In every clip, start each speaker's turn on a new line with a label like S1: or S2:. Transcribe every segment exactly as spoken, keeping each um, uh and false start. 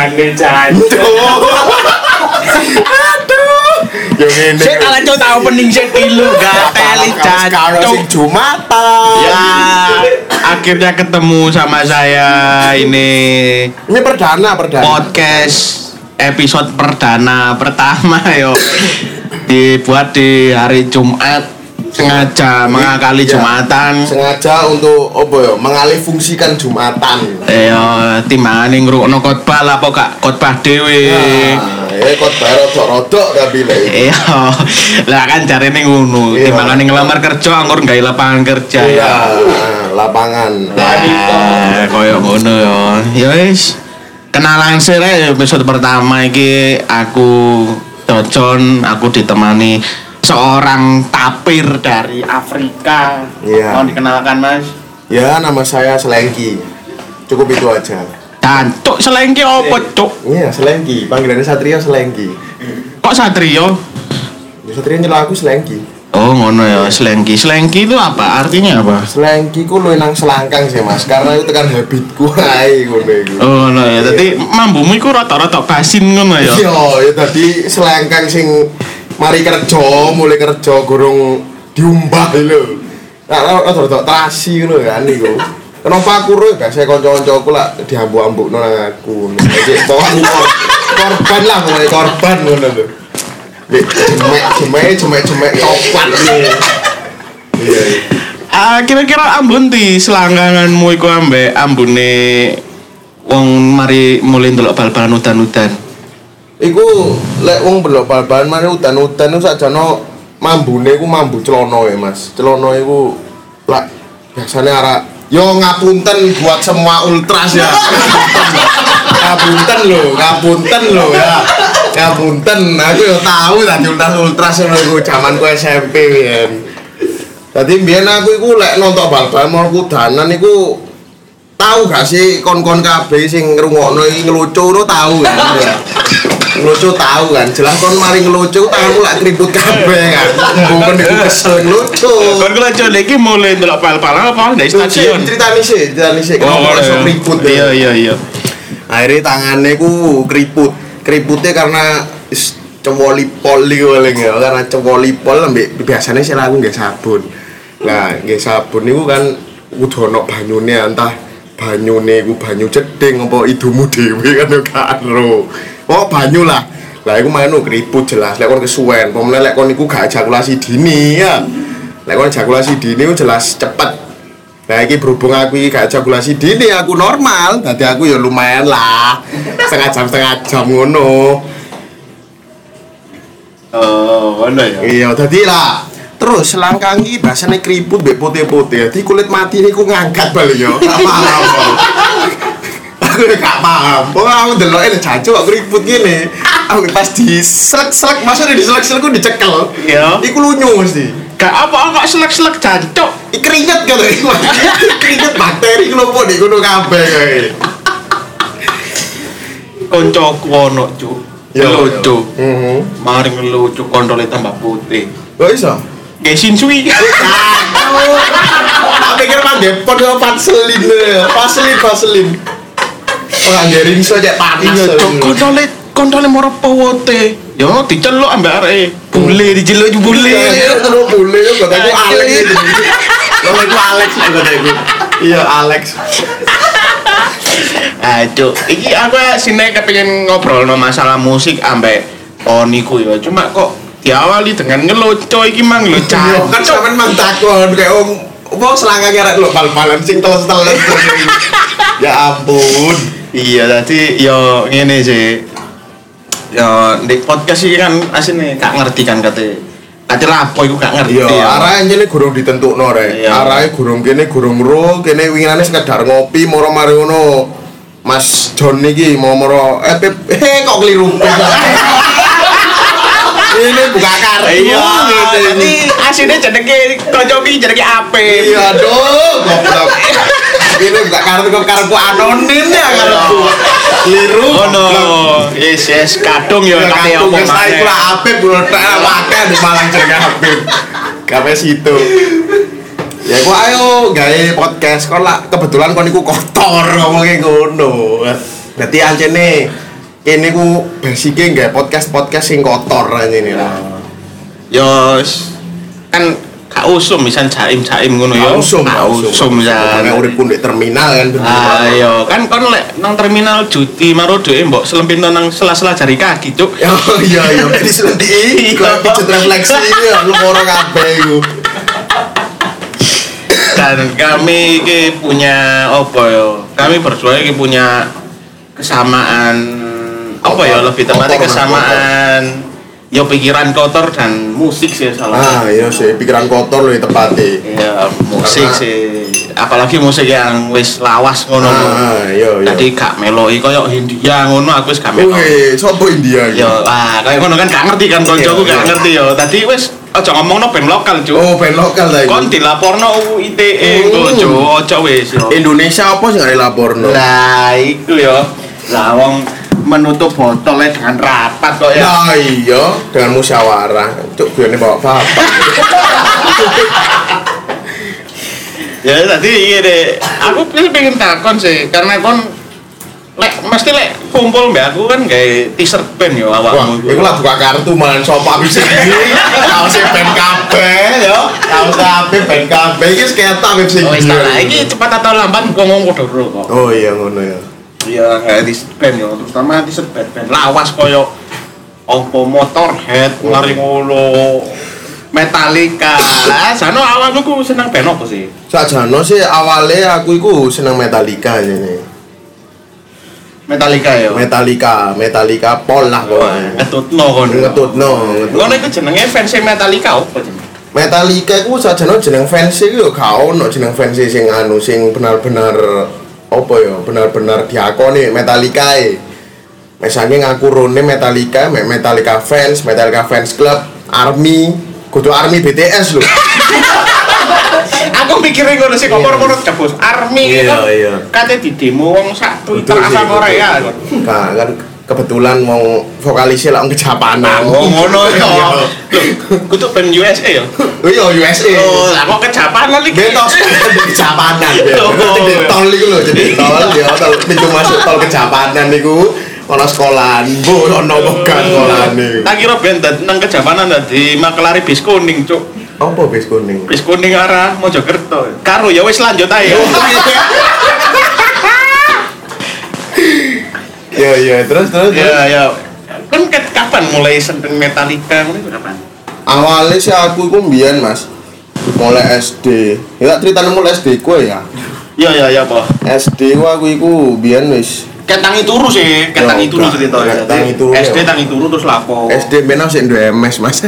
S1: Gane jancuk.
S2: Aduh. Yo ngene.
S1: Sik ala cuk tau pening sik kilo gak teli jancuk.
S2: Jumatan.
S1: Ya, akhirnya ketemu sama saya ini.
S2: Ini perdana, perdana.
S1: Podcast episode perdana pertama yo. Dibuat di hari Jumat. Sengaja mengakali ya, Jumatan.
S2: Sengaja untuk apa ya? Mengalih fungsikan Jumatan.
S1: Ya, timbangane ngrungokno khotbah lah apa gak khotbah dhewe.
S2: Nah, ya khotbah rodok-rodok tapi lho.
S1: Iya. Lah kan jarene ngono. Timbangane ngelamar kerja anggur gawe lapangan kerja.
S2: Iya, lapangan.
S1: Nah, koyo ngono ya. Ya wis. Kenalan sih episode pertama iki aku Docon, aku ditemani seorang tapir dari Afrika.
S2: Iya.
S1: Mau dikenalkan Mas?
S2: Ya, nama saya Selengki. Cukup itu aja.
S1: Cantuk Selengki apa, Cuk?
S2: Iya, Selengki. Panggilannya Satrio Selengki.
S1: Kok Satrio?
S2: Ya, Satrio nyela aku Selengki.
S1: Oh, ngono ya, Selengki. Selengki itu apa? Artinya apa?
S2: Selengki ku luwih nang selangkang sih, Mas. Karena itu tekan habitku ae ngono iku.
S1: Oh, ngono ya. Dadi mambumu iku rata-rata basin ngono ya.
S2: Iya, ya dadi selangkang sing mari kerja, mulai kerja gorong diumbah lho. Nah, rada-rada trasi ngono kan niku. Kenapa aku ro gak saya kanca-kancaku lak diambuk-ambukno nang aku. Jadi korban lah, mulai korban ngono lho. Nek jemek-jemek jemek-jemek coklat iki. Iya.
S1: Ah, kira-kira ambun di selangkanganmu iku ambek ambune wong mari mulai ndelok bal-balan udan-udan.
S2: Iku lek wong belok bal-balan mari udan-udan iku sakjane mambune iku mambu celana ya, Mas. Celana iku lak biasane arek yo ngapunten buat semua ultras ya. Ngapunten lho, ngapunten lho ya. Ngapunten, aku yo tahu tadi ultras-ultras ngono iku jamanku S M P biyen. Dadi biyen aku iku lek nonton bal-balan mau kudanan iku tahu gak sih kon-kon kabeh sing ngrungokno iki ngelucu ngono tahu ya. Ngelucu tahu kan, jelas kon mari ngelucu tanganku lak keriput kabeh kan. Mbuken iku kesel ngelucu.
S1: Kon ngelucu iki mulai ndelok bal-balan apa ndek stadion?
S2: Ceritani sih, ceritani sih. Kenapa iso keriput?
S1: Iya iya iya.
S2: Akhirnya tangannya ku keriput. Keriputnya karena cewoli pol iku paling ya, karena cewoli pol ambek biasanya sih aku nggih sabun. Lah, nggih sabun niku kan kudu ono banyune, entah banyune iku banyu cedhing apa idumu dhewe kan yo gak ero. Oh banyu lah. Lah iku manu keriput jelas. Lek kon kesuwen, pemene lek kon niku gak ejakulasi dini ya. Lek kon ejakulasi dini ku jelas cepet. Lah iki berhubung aku iki gak ejakulasi dini, aku normal. Dadi aku ya lumayan lah. Setengah jam setengah jam ngono.
S1: Oh, ngono ya.
S2: Iya, dadi lah. Terus selangkang iki basane keriput mbek putih-putih. Dadi kulit mati niku ngangkat bali yo. Paham. Aku gak paham. Wong aku ndeloke jancuk kok keriput ngene. Aku pas diselek-selek, maksudnya diselek-selek ku dicekel.
S1: Iya.
S2: Iku lunyu mesti.
S1: Gak apa kok selek-selek jancuk.
S2: Iki keringet kan iku. Keringet bakteri kelompok di kono kabeh kae.
S1: Koncoku ono, Cuk. Ngelucu.
S2: Heeh.
S1: Mari ngelucu kontole tambah putih.
S2: Kok iso?
S1: Kayak Shinsui.
S2: Tak pikir mah depot yo Vaseline lho. Vaseline Vaseline. Ora ngering iso cek panas.
S1: Iya, Cuk. Kontole kontole moro powote. Yo diceluk ambek areke. Bule diceluk bule.
S2: Terus bule yo kok aku Alex. Lho aku Alex kok aku. Iya Alex.
S1: Aduh, iki aku sine kepengin ngobrol no masalah musik ambek Oniku ya. Cuma kok diawali dengan ngelucu iki mang lho, Cak.
S2: Kan sampean mang takon kayak om opo selangkange arek lho bal-balan sing teles-teles. Ya ampun.
S1: Iya, tadi yo ngene sih. Yo di podcast iki kan asine gak ngerti kan kate. Kate lapo iku gak ngerti.
S2: Yo arahe jane gurung ditentukno rek. Arahe gurung kene gurung ro, kene winginane sekedar ngopi moro mari ngono. Mas John iki mau moro eh eh kok keliru. Ini buka kartu.
S1: Iya, jadi asine jenenge kanca iki jenenge Ape.
S2: Iya, aduh, goblok. Ini buka kartu kok kartu anonim ya kartu. Keliru.
S1: Oh no. Yes, yes, kadung ya kate opo
S2: mas. Saya kira Ape budak wae di Malang jenenge Ape. Gawe situ. Ya kok ayo gawe podcast kok lah kebetulan kon iku kotor ngomongke ngono. Dadi ancene kene ku basike nggae podcast-podcast sing kotor ini lah.
S1: Yo kan gak usum misal jaim-jaim ngono ya.
S2: Usum,
S1: usum ya.
S2: Nek urip ndek terminal kan.
S1: Ayo, kan kon lek nang terminal judi maro dhek mbok selempitno nang sela-sela jari kaki, Cuk.
S2: Oh iya iya, jadi selempiti. Kok pijet refleksi iki lu ora kabeh iku.
S1: Dan kami iki punya apa ya? Kami berdua iki punya kesamaan apa ya lebih tepatnya kesamaan ya pikiran kotor dan musik sih salah.
S2: Ah iya sih pikiran kotor loh tepatnya.
S1: Iya musik karena, sih apalagi musik yang wis lawas ngono.
S2: Ah iya iya.
S1: Tadi gak meloi koyo India ngono aku wis gak meloi.
S2: Wih, sopo India iki?
S1: Yo ah kayak ngono kan gak ngerti kan koncoku gak ngerti yo. Tadi wis aja ngomongno band lokal, Cuk.
S2: Oh, band lokal ta iki.
S1: Kon dilaporno U I T E kok, Cuk. Aja wis yo.
S2: Indonesia apa sing gak dilaporno?
S1: Lah iku yo. Lah wong menutup botolnya dengan rapat kok ya.
S2: Nah iya, dengan musyawarah. Cuk, biar bawa bapak.
S1: Ya tadi iya deh. Aku pengen takon sih, karena kon lek mesti lek kumpul mbak aku kan kayak t-shirt band yo awakmu.
S2: Wah, iku lah buka kartu malah sopa bisa iki. Kaose band kabeh yo. Kaos kabeh band kabeh iki seketak web sing.
S1: Oh, wis tak iki cepat atau lambat ngomong padha kok.
S2: Oh iya ngono ya.
S1: Iya, kayak di band yo, terutama di band-band lawas koyo opo Motorhead, lari ngono, Metallica. Lah, jano awalku ku seneng band opo sih?
S2: Sakjane sih awale aku iku seneng Metallica jane.
S1: Metallica yo.
S2: Metallica, Metallica pol lah kok.
S1: Ngetutno kon.
S2: Ngetutno.
S1: Ngono iku jenenge fans Metallica opo jenenge?
S2: Metallica iku sakjane jeneng fans iki yo gak ono jeneng fans sing anu sing benar-benar apa ya benar-benar diakoni Metallica e. Misalnya ngaku rone Metallica, Metallica fans, Metallica fans club, Army, kudu Army B T S lho. Aku mikirin ngono sih kok moro-moro jebus Army kan. Kate di demo wong sak Twitter asal Korea. Kan kan kebetulan mau vokalisnya lah kejapanan.
S1: Oh ngono ya. Kudu ben U S A ya.
S2: Oh iya U S A.
S1: Oh, lah kok kejapanan iki.
S2: Betos kejapanan ya. Jadi tol iku lho, jadi tol ya tol pintu masuk tol kejapanan niku ana sekolahan. Bu ono bogan sekolahane.
S1: Tak kira ben nang kejapanan dadi makelari bis kuning, Cuk.
S2: Apa bis kuning?
S1: Bis kuning arah Mojokerto. Karo ya wis lanjut ae.
S2: Ya ya terus terus.
S1: Ya ya. Kan kapan mulai seneng Metallica ngono kapan?
S2: Awalnya sih aku iku mbiyen, Mas. Mulai S D. Ya ceritane mulai S D ku ya.
S1: Iya iya iya, Pak.
S2: S D ku aku iku mbiyen wis
S1: ketangi turu sih, ketangi turu cerita ya.
S2: Ketangi turu.
S1: S D tangi turu terus lapo?
S2: S D ben sik duwe M S, Mas.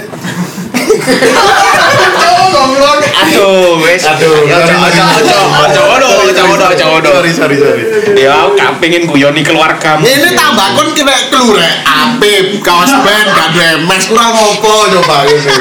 S1: Aduh, wes.
S2: Aduh,
S1: ya ojo ojo ojo ojo ojo ojo ojo ojo.
S2: Sorry, sorry, sorry.
S1: Ya, aku gak pengen guyoni keluargamu.
S2: Ini tambah kon kena kelure. Apip, kaos band, gak ada M S, kurang opo coba gitu.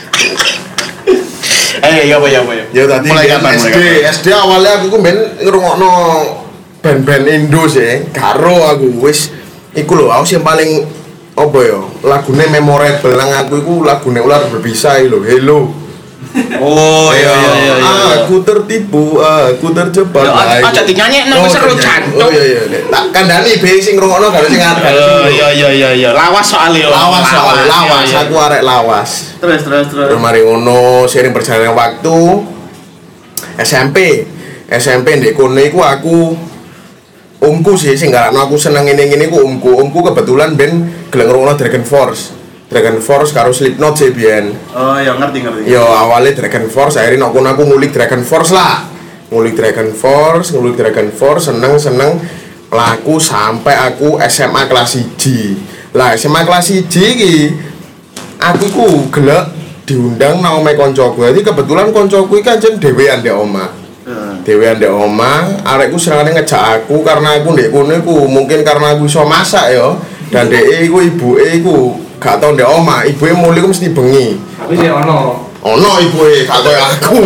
S1: Eh, ya apa ya apa ya.
S2: Ya tadi
S1: mulai kapan
S2: S D, S D awalnya aku ku ben ngrungokno band-band Indo sih. Karo aku wis iku lho, aku sing paling apa ya? Lagune memorable nang aku iku lagune Ular Berbisa iki lho, Hello.
S1: Oh iya iya iya iya.
S2: Aku tertipu, aku terjebak.
S1: Ya aja dinyanyekno wis seru jan.
S2: Oh iya iya. Tak kandhani be sing ngrungokno gak sing ngarep.
S1: Oh iya iya iya iya. Lawas soalnya.
S2: Lawas soalnya lawas. Aku arek lawas.
S1: Terus terus terus.
S2: Terus mari ngono seiring berjalannya waktu S M P. S M P ndek kono iku aku omku sih sing garakno aku seneng ngene-ngene ku omku. Omku kebetulan ben gelem ngrungokno Dragon Force. Dragon Force karo Slipknot sih biyen.
S1: Oh ya ngerti ngerti.
S2: Yo awalnya Dragon Force, akhirnya aku aku ngulik Dragon Force lah. Ngulik Dragon Force, ngulik Dragon Force, seneng-seneng laku sampai aku S M A kelas satu. Lah S M A kelas satu iki aku ku gelek diundang nang omahe koncoku. Jadi kebetulan koncoku iki anjen dhewean ndek omah. Heeh. Dhewean ndek omah, arekku senengane ngejak aku karena aku ndek kono iku mungkin karena aku iso masak yo. Dan dhek iku ibuke iku gak tau ndek omah, ibuke mulih ku mesti bengi.
S3: Tapi sih ono.
S2: Ono ibuke gak koyo aku.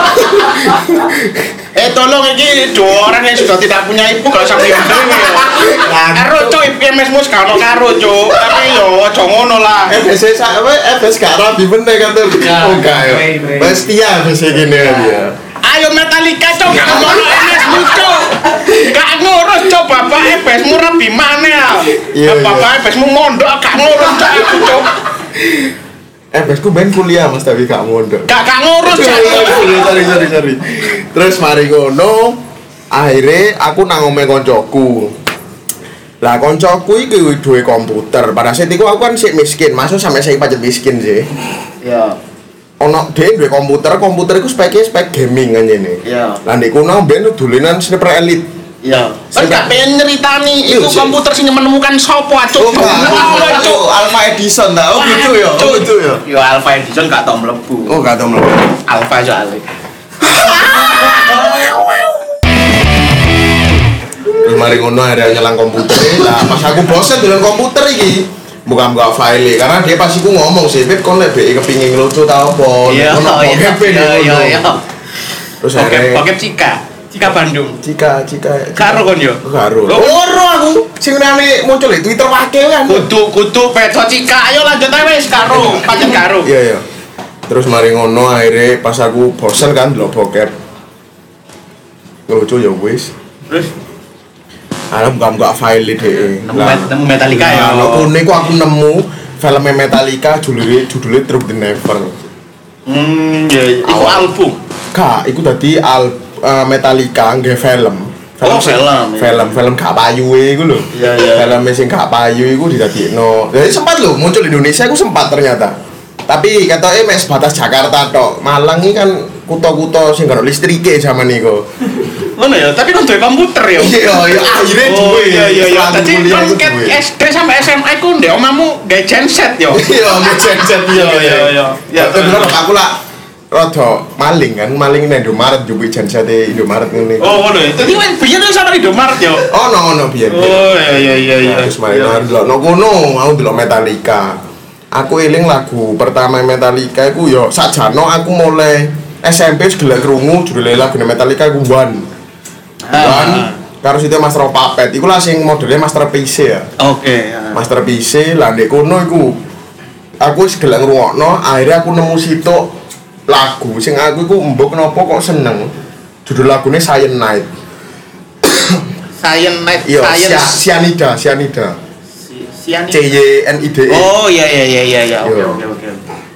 S1: Eh tolong ini dua orang yang sudah tidak punya ibu gak usah diundang ya. Karo cuk ibu M S mus gak ono karo cuk. Tapi yo aja ngono lah.
S2: F S apa F S gak rapi bener kan tuh. Oh gak ya. Wes dia F S gini dia.
S1: ayo Metallica cok gak ngono Enesmu cok. Gak ngurus cok bapake besmu rebi maneh ya. Bapake besmu mondok gak ngurus cok aku cok.
S2: Eh besku ben kuliah Mas tapi gak mondok.
S1: Gak gak ngurus cok.
S2: Sorry sorry sorry. Terus mari ngono akhirnya aku nang omahe koncoku. Lah koncoku iki duwe komputer. Pada saat itu aku kan sik miskin, masuk sampai saya pajak miskin sih.
S1: Iya.
S2: Ono dhewe duwe komputer, komputer iku spek spek gaming kan ngene.
S1: Iya.
S2: Lah ndek kono ben dolanan sniper elite.
S1: Iya. Kan gak pengen nyeritani iku komputer sing menemukan sopo acuk.
S2: Oh, acuk Alpha Edison ta. Oh gitu ya. Oh gitu ya.
S1: Yo Alpha Edison gak tau mlebu.
S2: Oh gak tau mlebu.
S1: Alpha soalnya.
S2: Mari ngono ada nyelang komputer. Lah pas aku bosen dengan komputer iki, buka-buka file karena dia pasti ku ngomong sih, "Beb kon lek B I kepingin lucu ta opo?"
S1: Ono bokep
S2: iya iya. Terus
S1: bokep bokep Cika. Cika Bandung.
S2: Cika Cika.
S1: Karo kon yo.
S2: Karo. Ora aku sing nane muncul di Twitter wakil kan.
S1: Kudu kudu peto Cika. Ayo lanjut ae wis karo, pancen karo.
S2: Iya iya. Terus mari ngono akhirnya pas aku bosen kan delok bokep. Lucu ya wis.
S1: Terus
S2: Ada buka-buka file deh.
S1: Nemu Metallica ya.
S2: Nah, kune ku aku nemu filmnya Metallica judulnya judulnya Through the Never.
S1: Hmm, ya itu album.
S2: Kak, itu tadi al uh, Metallica nggih film.
S1: Film oh, film.
S2: Film, ya. Film gak payuhe iku lho.
S1: Iya, iya.
S2: Film sing gak payu iku didadekno. Jadi sempat lho muncul di Indonesia iku sempat ternyata. Tapi katoke mek sebatas Jakarta tok. Malang iki kan kutha-kutha sing gak ono listrike zaman iku.
S1: Ngono ya, tapi kan duwe komputer ya.
S2: Iya, iya, akhirnya duwe.
S1: Iya, iya, iya. Dadi kan S D sampai S M A iku ndek omamu gawe genset yo.
S2: Iya, gawe genset iya,
S1: iya, iya.
S2: Ya, bener aku lah rada maling kan, maling nang Indomaret njupuki gensete Indomaret ngene.
S1: Oh, ngono ya. Dadi wen biyen wis ana Indomaret yo.
S2: Ono ono biyen.
S1: Oh, iya iya iya iya.
S2: Terus mari ndelok no kono, aku ndelok Metallica. Aku eling lagu pertama Metallica iku yo sajano aku mulai S M P wis gelek krungu judule lagu Metallica iku One. One karo situ Master of Puppet iku lah sing modelnya Master P C ya.
S1: Oke, okay.
S2: Master P C lah ndek kono iku aku wis gelek ngrungokno, akhirnya aku nemu situ lagu sing aku iku mbok kenapa kok seneng. Judul lagune Cyanide.
S1: Cyanide,
S2: Cyanide, Cyanida, Cyanida.
S1: Cyanida.
S2: C Y N I D E.
S1: Oh iya iya iya iya iya. Oke oke oke.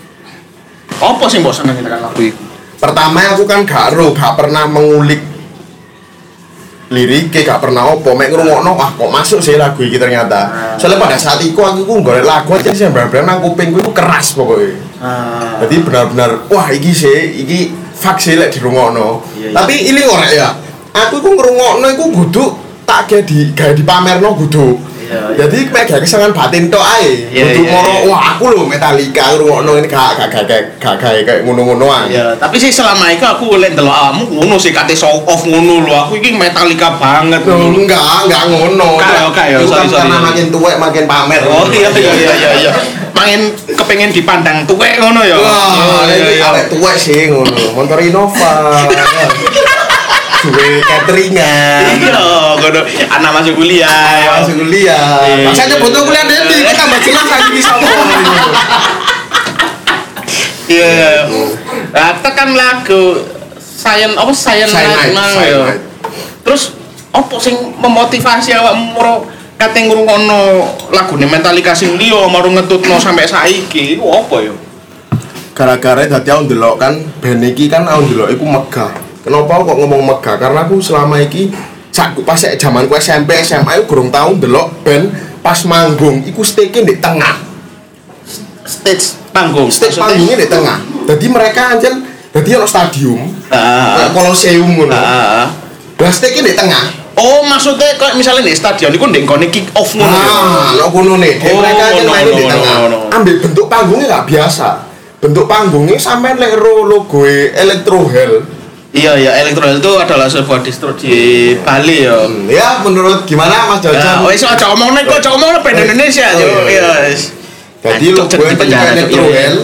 S1: Apa sing mbok seneng tekan lagu iku?
S2: Pertama aku kan gak ro, gak pernah mengulik liriknya, gak pernah opo, mek ngrungokno wah kok masuk sih lagu iki ternyata. Soalnya pada saat itu aku ku golek lagu aja sih bener-bener nang kupingku itu keras pokoknya. Ah. Jadi benar-benar wah iki sih, iki fak sih lek dirungokno. Iya, iya. Tapi ini ora ya. Aku ku ngrungokno iku kudu tak gawe di gawe dipamerno kudu. Iya, jadi kayak gak kesengan batin tok ae. Kudu moro wah aku lho Metallica ngrungokno ini gak gak gak gak kayak ngono-ngonoan.
S1: Iya, tapi sih selama itu aku oleh ndelok awakmu ngono sih kate show off ngono lho. Aku iki Metallica banget.
S2: Oh, enggak, enggak ngono.
S1: Kayak kayak sorry sorry.
S2: Karena makin tuwek makin pamer.
S1: Oh iya iya iya iya iya. Makin kepengen dipandang tuwek ngono ya.
S2: Wah, iki arek tuwek sih ngono. Motor Innova. Duwe cateringan.
S1: Iya, ngono. Anak masuk kuliah.
S2: Masuk kuliah. Makanya butuh kuliah nanti kita tambah jelas lagi bisa ngomong.
S1: Iya. Nah, tekan lagu Sayen apa Sayen Night ya. Terus opo sing memotivasi awakmu moro kate ngrungokno lagune Metallica sing liya maru ngetutno sampai saiki iku apa ya?
S2: Gara-gara dadi aku ndelok kan band iki kan aku ndelok iku megah. Kenapa kok ngomong megah? Karena aku selama iki sak pas zamanku S M P S M A aku gurung tau ndelok band pas manggung iku stage di tengah.
S1: Stage panggung.
S2: Stage panggungnya di tengah. Jadi mereka anjen dadi ono stadium. Heeh. Kolosium ngono. Heeh. Lah stage di tengah.
S1: Oh, maksudnya kayak misalnya di stadion iku ndek nggone kick off ngono ya.
S2: Ah, ono ngono nih. Mereka anjen main di tengah. Ambil bentuk panggungnya enggak biasa. Bentuk panggungnya sampai lek logo Electro Hell.
S1: Iya iya, Electro Hell itu adalah sebuah distro di Bali ya.
S2: Hmm, ya, menurut gimana Mas Jojo?
S1: Oh, iso aja omongno kok, aja omongno band Indonesia yo. Iya.
S2: Jadi logo Electro Hell.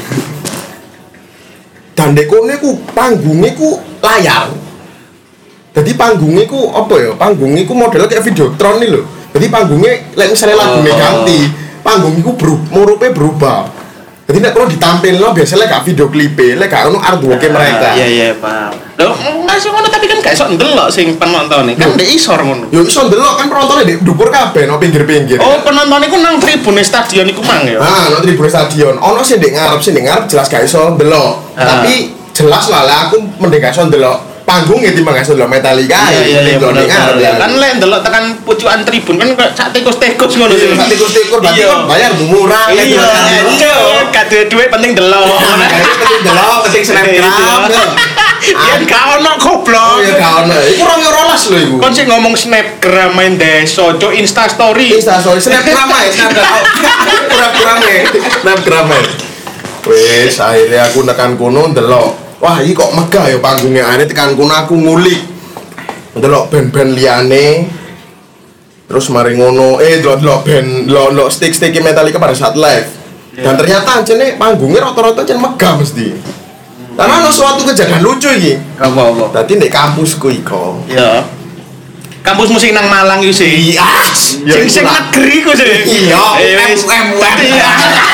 S2: Dan dekone ku panggungnya ku layar. Jadi panggungnya ku apa ya? Panggungnya ku modelnya kayak Videotron nih lho. Jadi panggungnya lek misalnya lagunya ganti, panggungnya ku berubah, murupe berubah. Jadi nek kalau ditampilno biasanya gak video klipe, lek gak ono artwork mereka.
S1: Iya iya paham. Lho ngasih ngono tapi kan gak iso ndelok sing penonton iki. Kan ndek isor ngono.
S2: Yo iso ndelok kan penontonnya di dhuwur kabeh no pinggir-pinggir.
S1: Oh, penonton iku nang tribune stadion iku mang ya.
S2: Ah, nang tribune stadion. Ono sing ndek ngarep, sing ndek ngarep jelas gak iso ndelok. Tapi jelas lah lah aku mending gak iso ndelok panggung ya timbang gak iso ndelok Metallica.
S1: Iya iya
S2: ndelok ngarep.
S1: Kan lek ndelok tekan pucukan tribun kan kok sak tikus-tikus ngono sih.
S2: Sak tikus-tikus berarti kan bayar murah.
S1: Iya, gak duwe duit penting delok.
S2: Penting delok, penting snapgram.
S1: Iya gak ono goblok.
S2: Oh ya gak ono. Iku rong rolas lho iku.
S1: Kon sing ngomong snapgram main desa, cuk Insta story.
S2: Insta story snapgram ae, snapgram. Pura-pura ae. Snapgram ae. Wes akhirnya aku nekan kono ndelok. Wah, iki kok megah ya panggungnya. Akhirnya tekan kono aku ngulik. Ndelok band-band liyane. Terus mari ngono, eh ndelok-ndelok band, ndelok stick-stick Metallica pada saat live. Dan ternyata ancene panggungnya rata-rata ancen megah mesti. Karena ada suatu kejadian lucu iki.
S1: Apa-apa?
S2: Tadi di kampusku iko.
S1: Iya. Kampus musik nang Malang iki sih.
S2: Iya.
S1: Sing sing negeri ku sih.
S2: Iya.
S1: Wis
S2: M U M.
S1: Iya.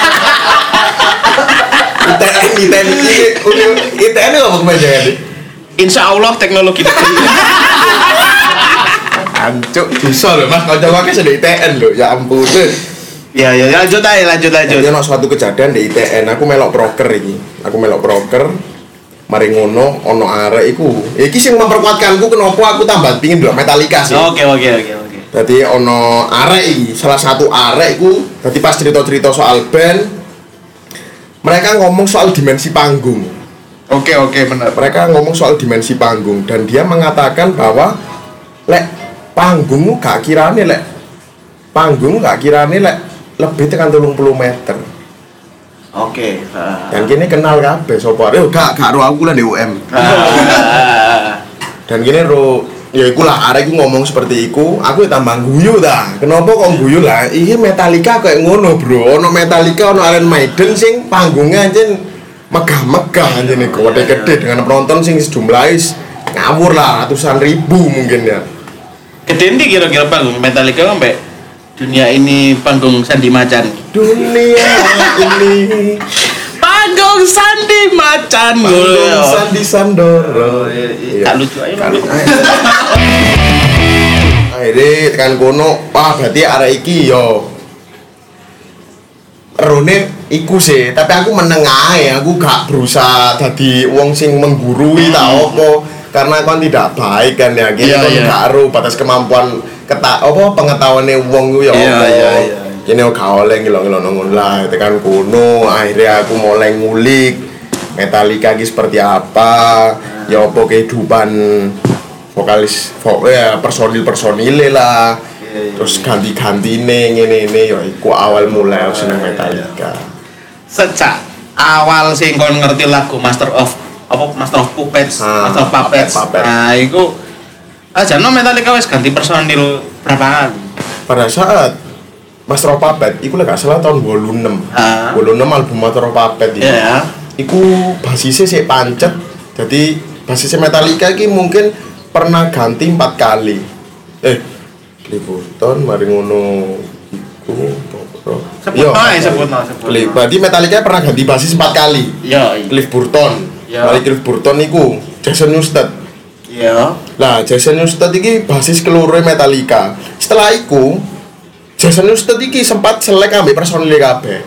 S2: I T N I T N I T N apa kepanjangan iki?
S1: Insya Allah teknologi negeri.
S2: Ancuk bisa lho Mas, kanca-kanca sudah I T N lho. Ya ampun.
S1: Ya ya lanjut aja lanjut lanjut.
S2: Jadi ono suatu kejadian di I T N, aku melok broker iki. Aku melok broker. Mari ngono ono arek iku. Iki sing memperkuatkanku kenapa aku tambah pingin ndelok Metallica sih.
S1: Oke oke oke oke.
S2: Dadi ono arek iki, salah satu arek iku dadi pas cerita-cerita soal band mereka ngomong soal dimensi panggung.
S1: Oke oke benar.
S2: Mereka ngomong soal dimensi panggung dan dia mengatakan bahwa lek panggungmu gak kirane lek panggung gak kirane lek lebih tekan telung puluh meter.
S1: Oke. Uh.
S2: Dan kini kenal kabeh sapa arek. Yo gak gak ro aku lah di U M.
S1: Uh.
S2: Dan kini ro ya iku lah arek iku ngomong seperti iku, aku ya tambah guyu ta. Kenapa kok guyu lah? Iki Metallica kayak ngono, Bro. Ono Metallica, ono Iron Maiden sing panggungnya anjen megah-megah anjen iku, gede-gede dengan penonton sing jumlahe ngawur lah ratusan ribu mungkin ya.
S1: Gede ndi kira-kira panggung Metallica sampai dunia ini panggung Sandi Macan.
S2: Dunia ini
S1: panggung Sandi Macan.
S2: panggung Sandi Sandoro.
S1: Tak lucu aja.
S2: Akhirnya tekan kono, wah berarti arek iki yo rone iku sih, tapi aku menengah ya, aku gak berusaha dadi wong sing menggurui ta opo, karena kan tidak baik kan ya, gitu kan gak ero batas kemampuan keta apa pengetahuane wong ku ya opo. Iya iya iya. Kene gak oleh ngilo-ngilo ngono lah, tekan kono, akhirnya aku mulai ngulik Metallica iki seperti apa, ya opo kehidupan vokalis vo, ya personil-personile lah. Yeah, yeah, terus ganti-gantine ngene-ngene ya iku awal mulai aku seneng Metallica.
S1: Sejak awal sing kon ngerti lagu Master of apa Master of Puppets, ah, Master of Puppets. Puppet, Puppet. Nah, iku aja no Metallica wis ganti personil berapa kali?
S2: Pada saat Master of Puppets iku lek gak salah tahun dua puluh enam. Ah. dua puluh enam album Master of Puppets iku. Yeah. Iku basisnya sik pancet. Jadi basisnya Metallica iki mungkin pernah ganti empat kali. Eh, Cliff Burton, mari ngono iku apa?
S1: Sebut ae, sebut ae.
S2: Berarti Metallica pernah ganti basis empat kali.
S1: Iya.
S2: Cliff Burton.
S1: Iya.
S2: Mari Cliff Burton iku Jason Newsted.
S1: Iya.
S2: Lah, Jason Newsted iki basis keloro Metallica. Setelah iku Jason Newsted iki sempat selek ambek personil kabeh.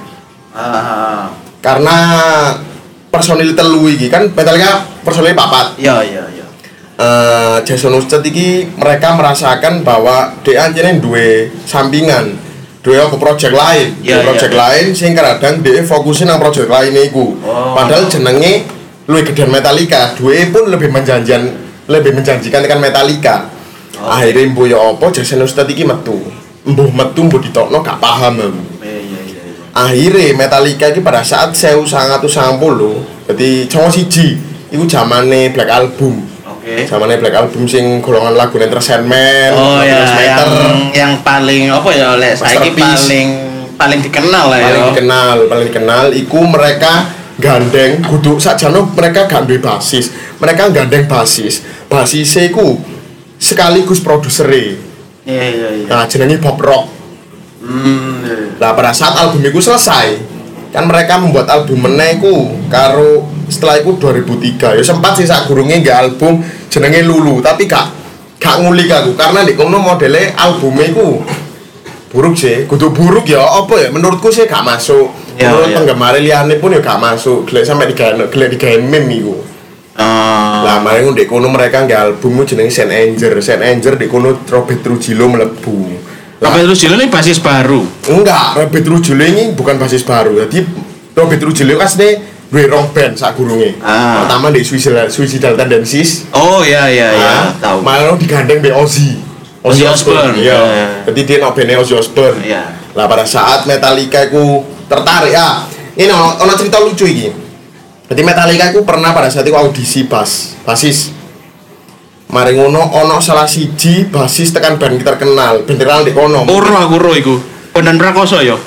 S1: Ah.
S2: Karena personil telu iki kan Metallica personil papat.
S1: Iya, iya, iya.
S2: Uh, Jason Newsted iki mereka merasakan bahwa dia anjene duwe sampingan, duwe apa project lain, yeah, project yeah, lain sing kadang dia fokusin nang project lain iku. Oh. Padahal jenenge luwih gedean Metallica, duwe pun lebih menjanjikan, lebih menjanjikan tekan Metallica. Oh. Akhirnya mbuh ya apa Jason Newsted iki metu. Mbuh metu mbuh ditokno gak paham aku.
S1: Iya iya iya.
S2: Akhirnya Metallica iki pada saat seribu sembilan ratus sembilan puluh, dadi cowok siji iku zamane Black Album.
S1: Okay.
S2: Zamane Black Album sing golongan lagu Enter Sandman,
S1: oh ya, yang, yang paling apa ya oleh saiki paling paling dikenal lah ya.
S2: Paling dikenal, paling dikenal iku mereka gandeng kudu sakjane mereka gak duwe basis. Mereka gandeng basis. Basise iku sekaligus produsere.
S1: Iya iya iya.
S2: Nah, jenenge Bob Rock.
S1: Hmm.
S2: Lah pada saat album iku selesai, kan mereka membuat album meneh iku karo setelah itu dua ribu tiga ya sempat sih sak gurunge nggak album jenenge Lulu tapi gak gak ngulik aku karena di kono modele albumnya iku buruk sih kudu buruk ya apa ya menurutku sih gak masuk ya, menurut ya. Penggemar liane pun ya gak masuk gelek sampai digawe gelek digawe meme iku Uh. Lah maring ndek kono mereka nggak album jenenge Saint Anger. Saint Anger ndek kono Robert Trujillo mlebu.
S1: Robert Trujillo ini basis baru.
S2: Enggak, Robert Trujillo ini bukan basis baru. Jadi Robert Trujillo asline duwe rong band sak gurunge. Ah. Pertama di Suicidal Suicidal Tendencies.
S1: Oh iya iya iya, ah, tahu.
S2: Malah digandeng be Ozzy.
S1: Ozzy Osbourne.
S2: Iya. Jadi dia nok band Ozzy Osbourne. Iya. Lah pada saat Metallica iku tertarik ah. Ini ono ono cerita lucu iki. Jadi Metallica itu pernah pada saat itu audisi bass, basis. Mari ngono ono salah siji basis tekan band terkenal, band terkenal di kono.
S1: Ora aku ro iku. Bondan Prakoso ya.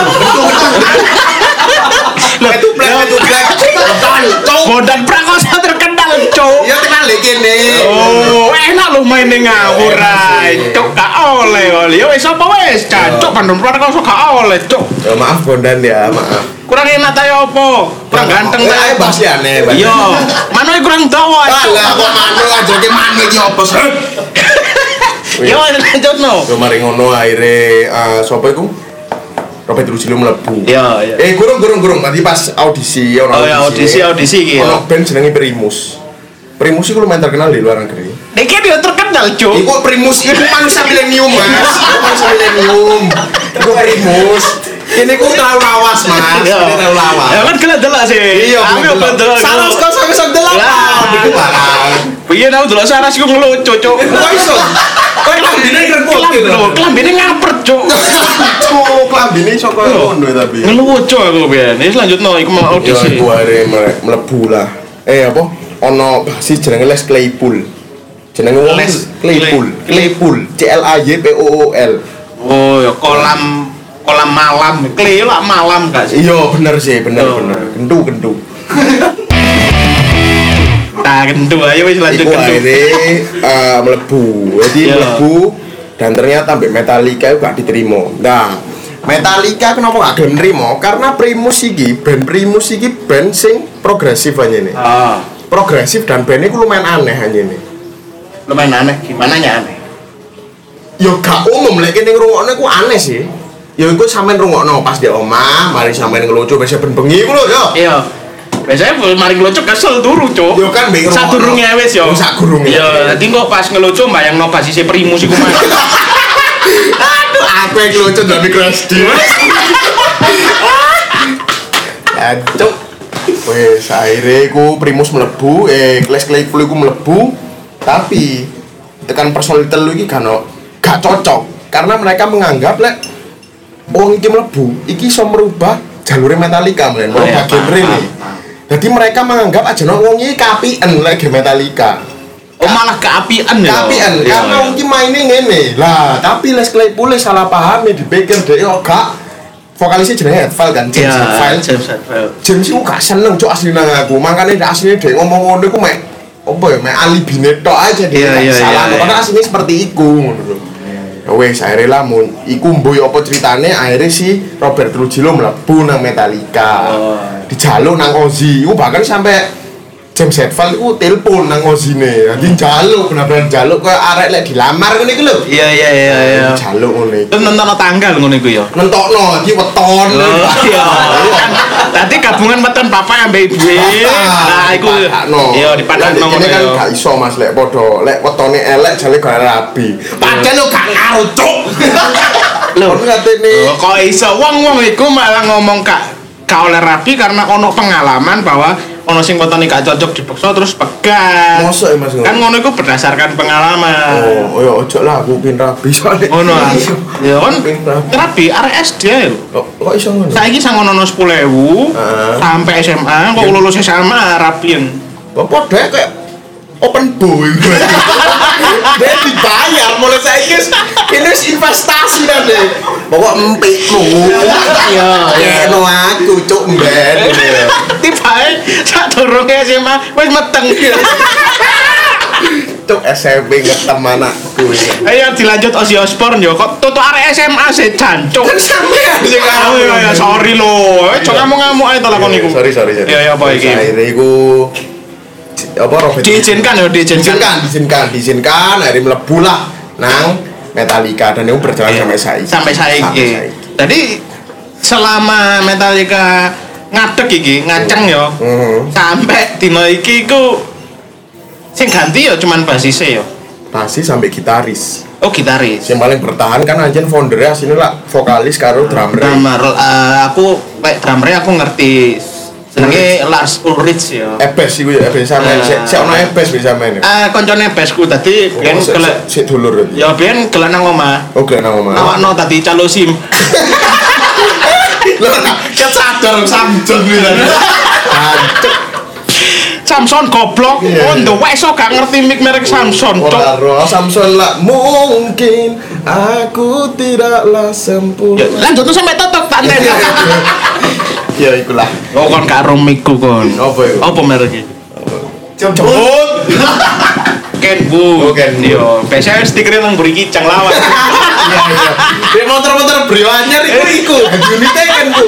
S2: Lah itu black itu black.
S1: Bondan Prakoso terkenal, Cuk.
S2: Ya terkenal iki kene.
S1: Oh, enak lu main ngawur ae. Cuk, gak oleh oleh. Ya wis apa wis, Cuk. Bondan Prakoso gak oleh, Cuk.
S2: Ya maaf Bondan ya, maaf.
S1: Kurang enak ta opo? Kurang ganteng ta.
S2: Ae bas ya ne.
S1: Iya. Mano kurang dawa.
S2: Lah kok mano aja ki mano iki opo sih?
S1: Yo lanjutno.
S2: Yo mari ngono akhire sapa iku? Robert Trujillo mlebu.
S1: Iya, iya.
S2: Eh gurung gurung gurung tadi pas audisi ono.
S1: Oh ya audisi audisi iki.
S2: Ono band jenenge Primus. Primus iku lumayan terkenal di luar negeri.
S1: Nek dia terkenal, Cuk.
S2: Iku Primus iku manusia milenium, Mas. Manusia milenium. Iku Primus. Ini ku terlalu lawas, Mas. Ini terlalu lawas.
S1: Ya kan kena delok sih.
S2: Iya,
S1: aku ben delok.
S2: Saras kok sampe sak delok. Iku barang.
S1: Piye tau delok saras iku ngelucu, Cuk.
S2: Kok iso? Kok klambine ngrepot lho.
S1: Klambine ngapret, Cuk.
S2: Cuk, klambine iso koyo ngono tapi.
S1: Ngelucu aku piye. Wis lanjutno iku mau audisi.
S2: Ya iku are mlebu lah. Eh apa? Ono basis jenenge Les Claypool. Jenenge Les Claypool. Claypool. C L A Y P O O L.
S1: Oh, ya kolam kolam malam, Clay lah malam gak sih?
S2: Iya bener sih, bener oh. bener. Gendu gendu.
S1: Nah gendu ayo wis lanjut gendu.
S2: Iku akhirnya uh, melebu, jadi yeah. melebu dan ternyata sampai Metallica itu gak diterima. Nah Metallica kenapa gak gelem nrimo? Karena Primus iki, band Primus iki band sing progresif aja nih. Ah. Progresif dan bandnya ku lumayan aneh aja nih.
S1: Lumayan aneh, gimana nya aneh?
S2: Yo gak umum lek kene ngrungokne ku aneh sih. Ya iku sampean rungokno pas di omah, mari sampean ngelucu biasa ben bengi ku lho yo.
S1: Iya. Biasanya mari ngelucu kesel turu, Cuk.
S2: Yo kan mbek
S1: sak durunge wis yo.
S2: Sak durunge.
S1: Iya, dadi kok pas ngelucu mbayangno basise Primus iku mah.
S2: Aduh, aku yang ngelucu dari Crash D. Aduh. Wes akhirnya ku Primus mlebu, eh Les Claypool iku mlebu, tapi tekan personil telu iki kan gak cocok karena mereka menganggap lek wong iki mlebu, iki iso merubah jalure Metallica men, merubah genre ini. Jadi mereka menganggap aja no wong iki kapien lek Metallica.
S1: Oh malah keapian ya.
S2: Keapian karena wong iki maine ngene. Lah, tapi Les Claypool salah paham dipikir dhek yo gak vokalisnya jenenge Hetfield kan, James Hetfield. James Hetfield. James iku gak seneng cuk asline nang aku. Makane nek asline dhek ngomong ngono iku mek apa ya mek alibine tok aja dia salah. Karena asline seperti iku ngono lho. Wes akhirnya lah mun iku mboy apa ceritane akhirnya si Robert Trujillo mlebu nang Metallica. Oh. Dijaluk nang Ozzy. Iku bahkan sampai James Hetfield iku telepon nang Ozzy-ne. Dadi njaluk bener-bener njaluk koyo arek lek dilamar ngene iku lho.
S1: Iya iya iya iya.
S2: Njaluk ngono iku.
S1: Terus nentokno tanggal ngono iku ya.
S2: Nentokno iki weton.
S1: Iya. Tadi gabungan weton bapak ambek ibu. Nah iku iya dipadakno ngono.
S2: Ini kan gak iso Mas lek padha lek wetone elek jale gak rabi. Padahal lo gak ngaruh cuk. Lho katene
S1: kok iso wong-wong iku malah ngomong kak gak oleh rabi karena ono pengalaman bahwa ono sing wetone gak cocok dipaksa terus pegat.
S2: Mosok ya Mas.
S1: Kan ngono iku berdasarkan pengalaman.
S2: Oh, ya ojo lah aku pin rabi soalnya.
S1: Ngono ah. Ya kan rabi arek S D lho.
S2: Kok iso ngono?
S1: Saiki sangono sepuluh ribu sampai S M A kok lulus S M A rabian.
S2: Bapak dek kayak open boy. Dia dibayar mulai saiki ini investasi ta dek. Pokok empikku. Iya, ya no aku cuk mben.
S1: Tibae sak durunge S M A wis meteng.
S2: Cuk S M P ngetem anakku.
S1: Ayo dilanjut Ozzy Osbourne yo. Kok tutuk arek S M A sih jancuk.
S2: Kan sampean sing
S1: Oh iya, sorry lho. Eh, cok ngamuk-ngamuk ae to lakon iku.
S2: Sorry, sorry, sorry.
S1: Iya, iya apa iki?
S2: Akhirnya iku apa Robert
S1: Diizinkan ya, diizinkan.
S2: diizinkan, diizinkan, diizinkan, akhirnya mlebu lah nang Metallica dan itu berjalan sampai saiki.
S1: Sampai saiki. Jadi selama Metallica ngadeg iki, ngaceng yo.
S2: Heeh.
S1: Sampai dino iki iku sing ganti yo cuman basise yo.
S2: Basis sampai gitaris.
S1: Oh, gitaris.
S2: Yang paling bertahan kan anjen foundernya asline lah vokalis karo drummer.
S1: Drummer eh, aku kayak drummernya aku ngerti. Jenenge Lars Ulrich yo.
S2: Ebes iku ya, Ebes sampean. Sik sik ono Ebes bisa main.
S1: Eh koncone besku tadi biyen kelek
S2: sik dulur.
S1: ya biyen kelek nang omah.
S2: Oh, gelek nang omah.
S1: Awakno tadi calo SIM.
S2: Lho, ket sadar Samsung gitu. Hancur.
S1: Samson goblok.
S2: Iya,
S1: Oh, ndowek iso gak ngerti mic merek Samson.
S2: Ora ro Samsung lah mungkin aku tidaklah sempurna.
S1: Ya, lanjut tuh sampai tutup tak enten.
S2: Ya ikulah.
S1: Oh, kon gak ro mic-ku kon.
S2: Apa iku?
S1: Apa merek iki?
S2: Jemput.
S1: Kenwood.
S2: Oh, Kenwood.
S1: Yo, biasanya stikernya nang buri kicang lawan.
S2: Iya iya. Di motor-motor brio anyar iku iku. Unite kan ku.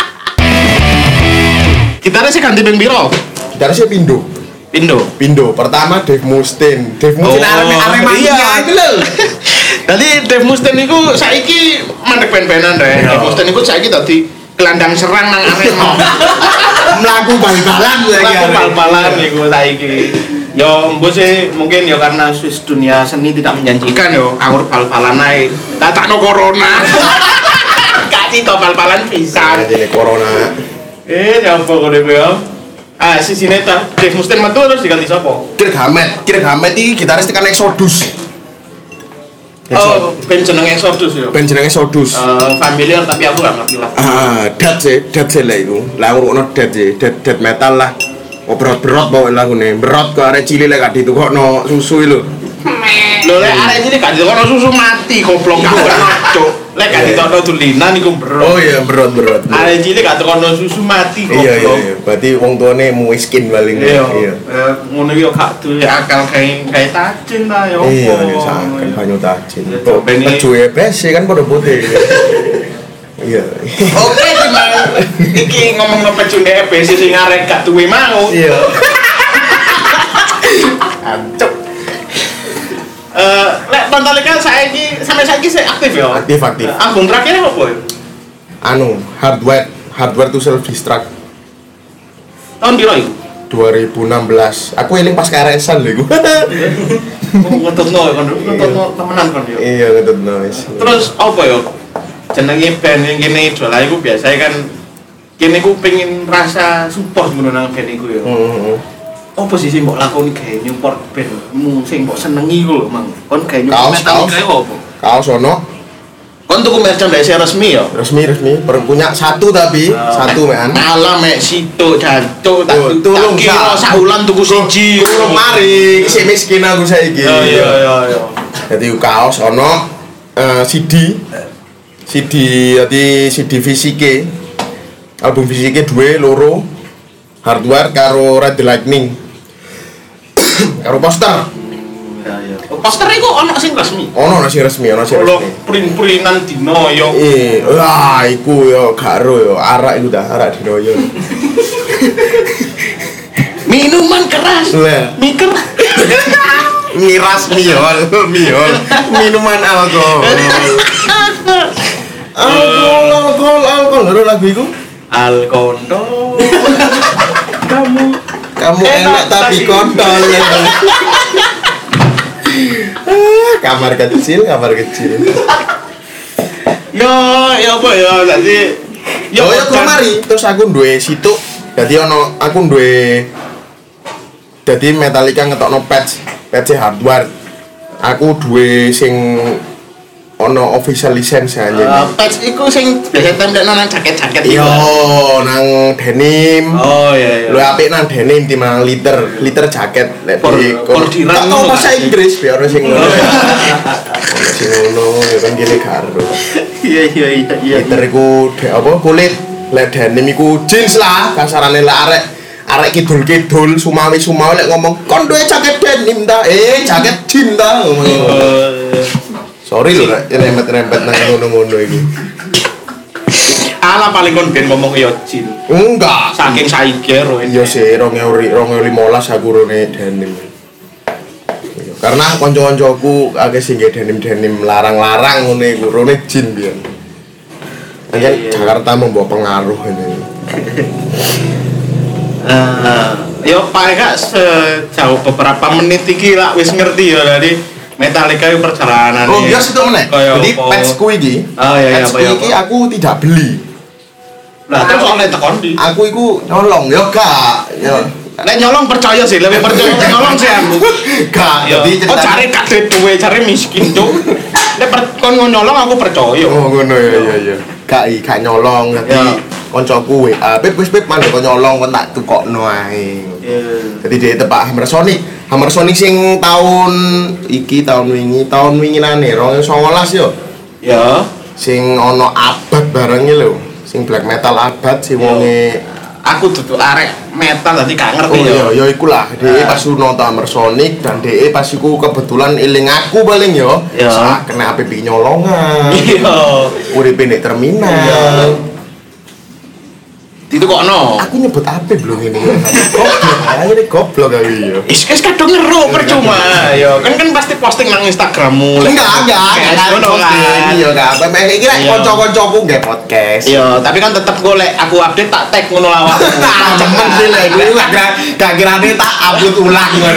S1: Gitarnya sih ganti beng biro.
S2: Dari sih Pindo.
S1: Pindo.
S2: Pindo. Pertama Dave Mustaine. Dave Mustaine arep arep
S1: iya.
S2: iki lho.
S1: Tadi Dave Mustaine iku saiki mandek ben-benan rek. Dave Mustaine iku saiki dadi gelandang serang nang Arema.
S2: Mlaku bal-balan lagi.
S1: Mlaku bal-balan iku saiki. Yo mbok sih mungkin ya karena Swiss dunia seni tidak menjanjikan yo anggur bal-balan ae. Datakno corona. Gak cito bal-balan pisan.
S2: Ini corona.
S1: Eh, ya apa kok dhewe yo? Ah, si Sineta, Dave Mustaine metu terus diganti sapa?
S2: Kirk Hammett. Kirk Hammett iki gitaris tekan Exodus.
S1: Oh, band jenenge Exodus yo.
S2: Band jenenge Exodus.
S1: Eh, familiar tapi aku gak ngerti lah.
S2: Ah, dead sih, dead sih lah iku. Lah ngono dead sih, dead dead metal lah. Oh berat-berat bawa lagune. Berat kok arek cilik lek gak ditukokno susu lho.
S1: Lho lek arek cilik gak ditukokno susu mati goblok gak ono cuk. Lek gak ditukokno dulinan iku berat.
S2: Oh iya, berat-berat.
S1: Arek cilik gak tukokno susu mati goblok.
S2: Iya iya iya. Berarti wong tuane miskin paling.
S1: Iya. Eh, ngono yo gak duwe akal kae kae tajin ta yo.
S2: Iya, iya saken banyu tajin.
S1: Ya,
S2: Kok
S1: coba ini-
S2: pejuwe besi kan padha putih. Iya.
S1: Oke, timbang iki ngomongno pecunde E B C sing arek gak duwe mau.
S2: Iya.
S1: Ancuk. Eh, lek Metallica saiki sampai saiki sih aktif ya.
S2: Aktif aktif.
S1: Album terakhirnya apa ya?
S2: Anu, hardware, hardware to self destruct
S1: Tahun piro iku?
S2: dua ribu enam belas. Aku eling pas K R S-an lho iku.
S1: Oh, ngetutno ya kon, ngetutno temenan kon yo.
S2: Iya, ngetut noise.
S1: Terus apa ya? Jenenge band yang kene idola iku biasanya kan kene ku pengen rasa support ngono nang band iku ya.
S2: Heeh.
S1: Apa sih sing mbok lakoni gawe nyupport bandmu sing mbok senengi iku lho, Mang? Kon gawe nyupport
S2: Kaos,
S1: Metallica
S2: kaos.
S1: iku apa?
S2: Kaos ono
S1: Kon tuku merchandise resmi ya?
S2: resmi resmi per- punya satu tapi satu mean.
S1: Malah mek situ jancuk tak
S2: Tuh, tulung,
S1: tak kira
S2: Sa.
S1: saulan tuku siji.
S2: Tulung mari, si miskin aku saiki.
S1: Oh iya iya iya.
S2: Jadi kaos ono eh, C D C D jadi C D fisike album fisike dua loro hardware karo Red the Lightning karo poster
S1: Iya iya. Poster iku ono sing resmi.
S2: ono nasi resmi ono sing
S1: Kalau
S2: resmi
S1: print-printan dino yo.
S2: eh wah iku yo karo yo arak iku dah arak dino yo
S1: Minuman keras.
S2: Lah.
S1: Miker.
S2: miras miol miol minuman alkohol alkohol alkohol alkohol lho lagu iku
S1: Alkondo. Kamu
S2: kamu
S1: Enak,
S2: enak tapi
S1: tapi-
S2: kontol ya. Ah, kamar kecil kamar kecil
S1: yo yo apa ya tadi
S2: yo yo kemari terus aku duwe situ jadi ono aku duwe jadi Metallica ngetokno patch patch hardware aku duwe sing ono official license aja
S1: Uh, patch iku sing biasa tempel nang jaket-jaket
S2: yo
S1: iku.
S2: nang denim
S1: Oh iya iya.
S2: lu apik nang denim timbang liter liter jaket lek
S1: Por-
S2: di
S1: pordiran
S2: tak tau
S1: ngono
S2: bahasa
S1: gak sih?
S2: Inggris biar ono sing ngono sing ngono ya kan gini karo
S1: Iya iya iya iya.
S2: liter iku de- apa kulit lek denim iku jeans lah kasarane lek arek arek kidul-kidul Sumawi-Sumawi lek ngomong kon duwe jaket denim ta eh jaket jean ta ngomong sorry lho rek rempet-rempet nang ngono-ngono iki
S1: ala paling kon ben ngomong yo jin
S2: enggak
S1: saking saiki ro
S2: iya sih dua ribu lima belas aku rene denim karena kanca-kancaku akeh sing nggih denim-denim larang-larang ngene iku rene jean biyen kan Jakarta membawa pengaruh ini
S1: Uh, yo paling gak sejauh beberapa menit iki lah wis ngerti ya tadi Metallica itu perjalanan.
S2: Oh iya situ meneh. Jadi patchku iki.
S1: Oh iya iya
S2: patchku iki aku tidak beli.
S1: Lah terus oleh tekon di.
S2: Aku iku nyolong yo gak. Yo.
S1: Nek nyolong percaya sih, lebih percaya nyolong sih aku.
S2: Gak. Jadi
S1: oh cari kadhe duwe, cari miskin tuh. Nek kon nyolong aku percaya.
S2: Oh ngono ya iya iya. Gak i gak nyolong dadi koncoku W A, "Pip wis pip mandek kon nyolong kon tak tukokno ae." Iya. Dadi dhek tepak Hammer Sonic. Hammer Sonic sing tahun iki tahun wingi, tahun winginane dua ribu sembilan belas yo.
S1: Ya.
S2: Sing ono abad bareng lho. Sing black metal abad sing wonge
S1: aku duduk arek metal dadi gak ngerti
S2: oh,
S1: ya.
S2: Oh iya, ya iku lah. Dhek pas nonton Hammer Sonic dan dhek pas iku kebetulan eling aku paling yo.
S1: Ya.
S2: Sak kena A P P nyolongan.
S1: Iya.
S2: Uripe nek terminal.
S1: Itu kok no?
S2: Aku nyebut apa belum ini? Goblok, akhirnya goblok kali ya.
S1: Is is kadung ngeru percuma. Yo, kan kan pasti posting nang Instagrammu.
S2: Enggak, enggak, enggak
S1: ngono kan.
S2: Iya, enggak apa. Mek iki lek kanca-kancaku nggih podcast.
S1: Iya, tapi kan tetep golek aku update tak tag ngono awakku.
S2: Cemen sih lek kuwi gak gak kirane tak upload ulang ngono.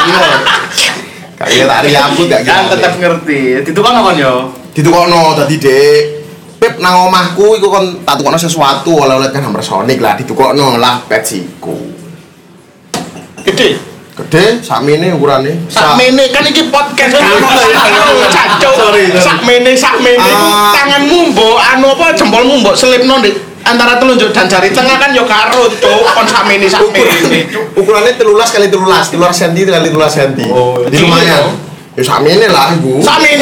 S2: Gak kira tak upload gak kira.
S1: Kan tetep ngerti. Ditukokno kon yo.
S2: Ditukokno dadi Dik. Pip nang omahku iku kon tak tukokno sesuatu oleh-oleh kan Hammer Sonic lah ditukokno lah patch iku.
S1: Gede.
S2: Gede sakmene ukurane.
S1: Sakmene kan iki podcast kan. Cacuk. Sakmene sakmene iku tanganmu mbok anu apa jempolmu mbok selipno ndek antara telunjuk dan jari tengah kan yo karo cuk kon sakmene sakmene.
S2: Ukurane tiga belas kali tiga belas, tiga belas senti kali tiga belas senti.
S1: Oh,
S2: jadi lumayan. Ya sakmene lah iku.
S1: Sakmene.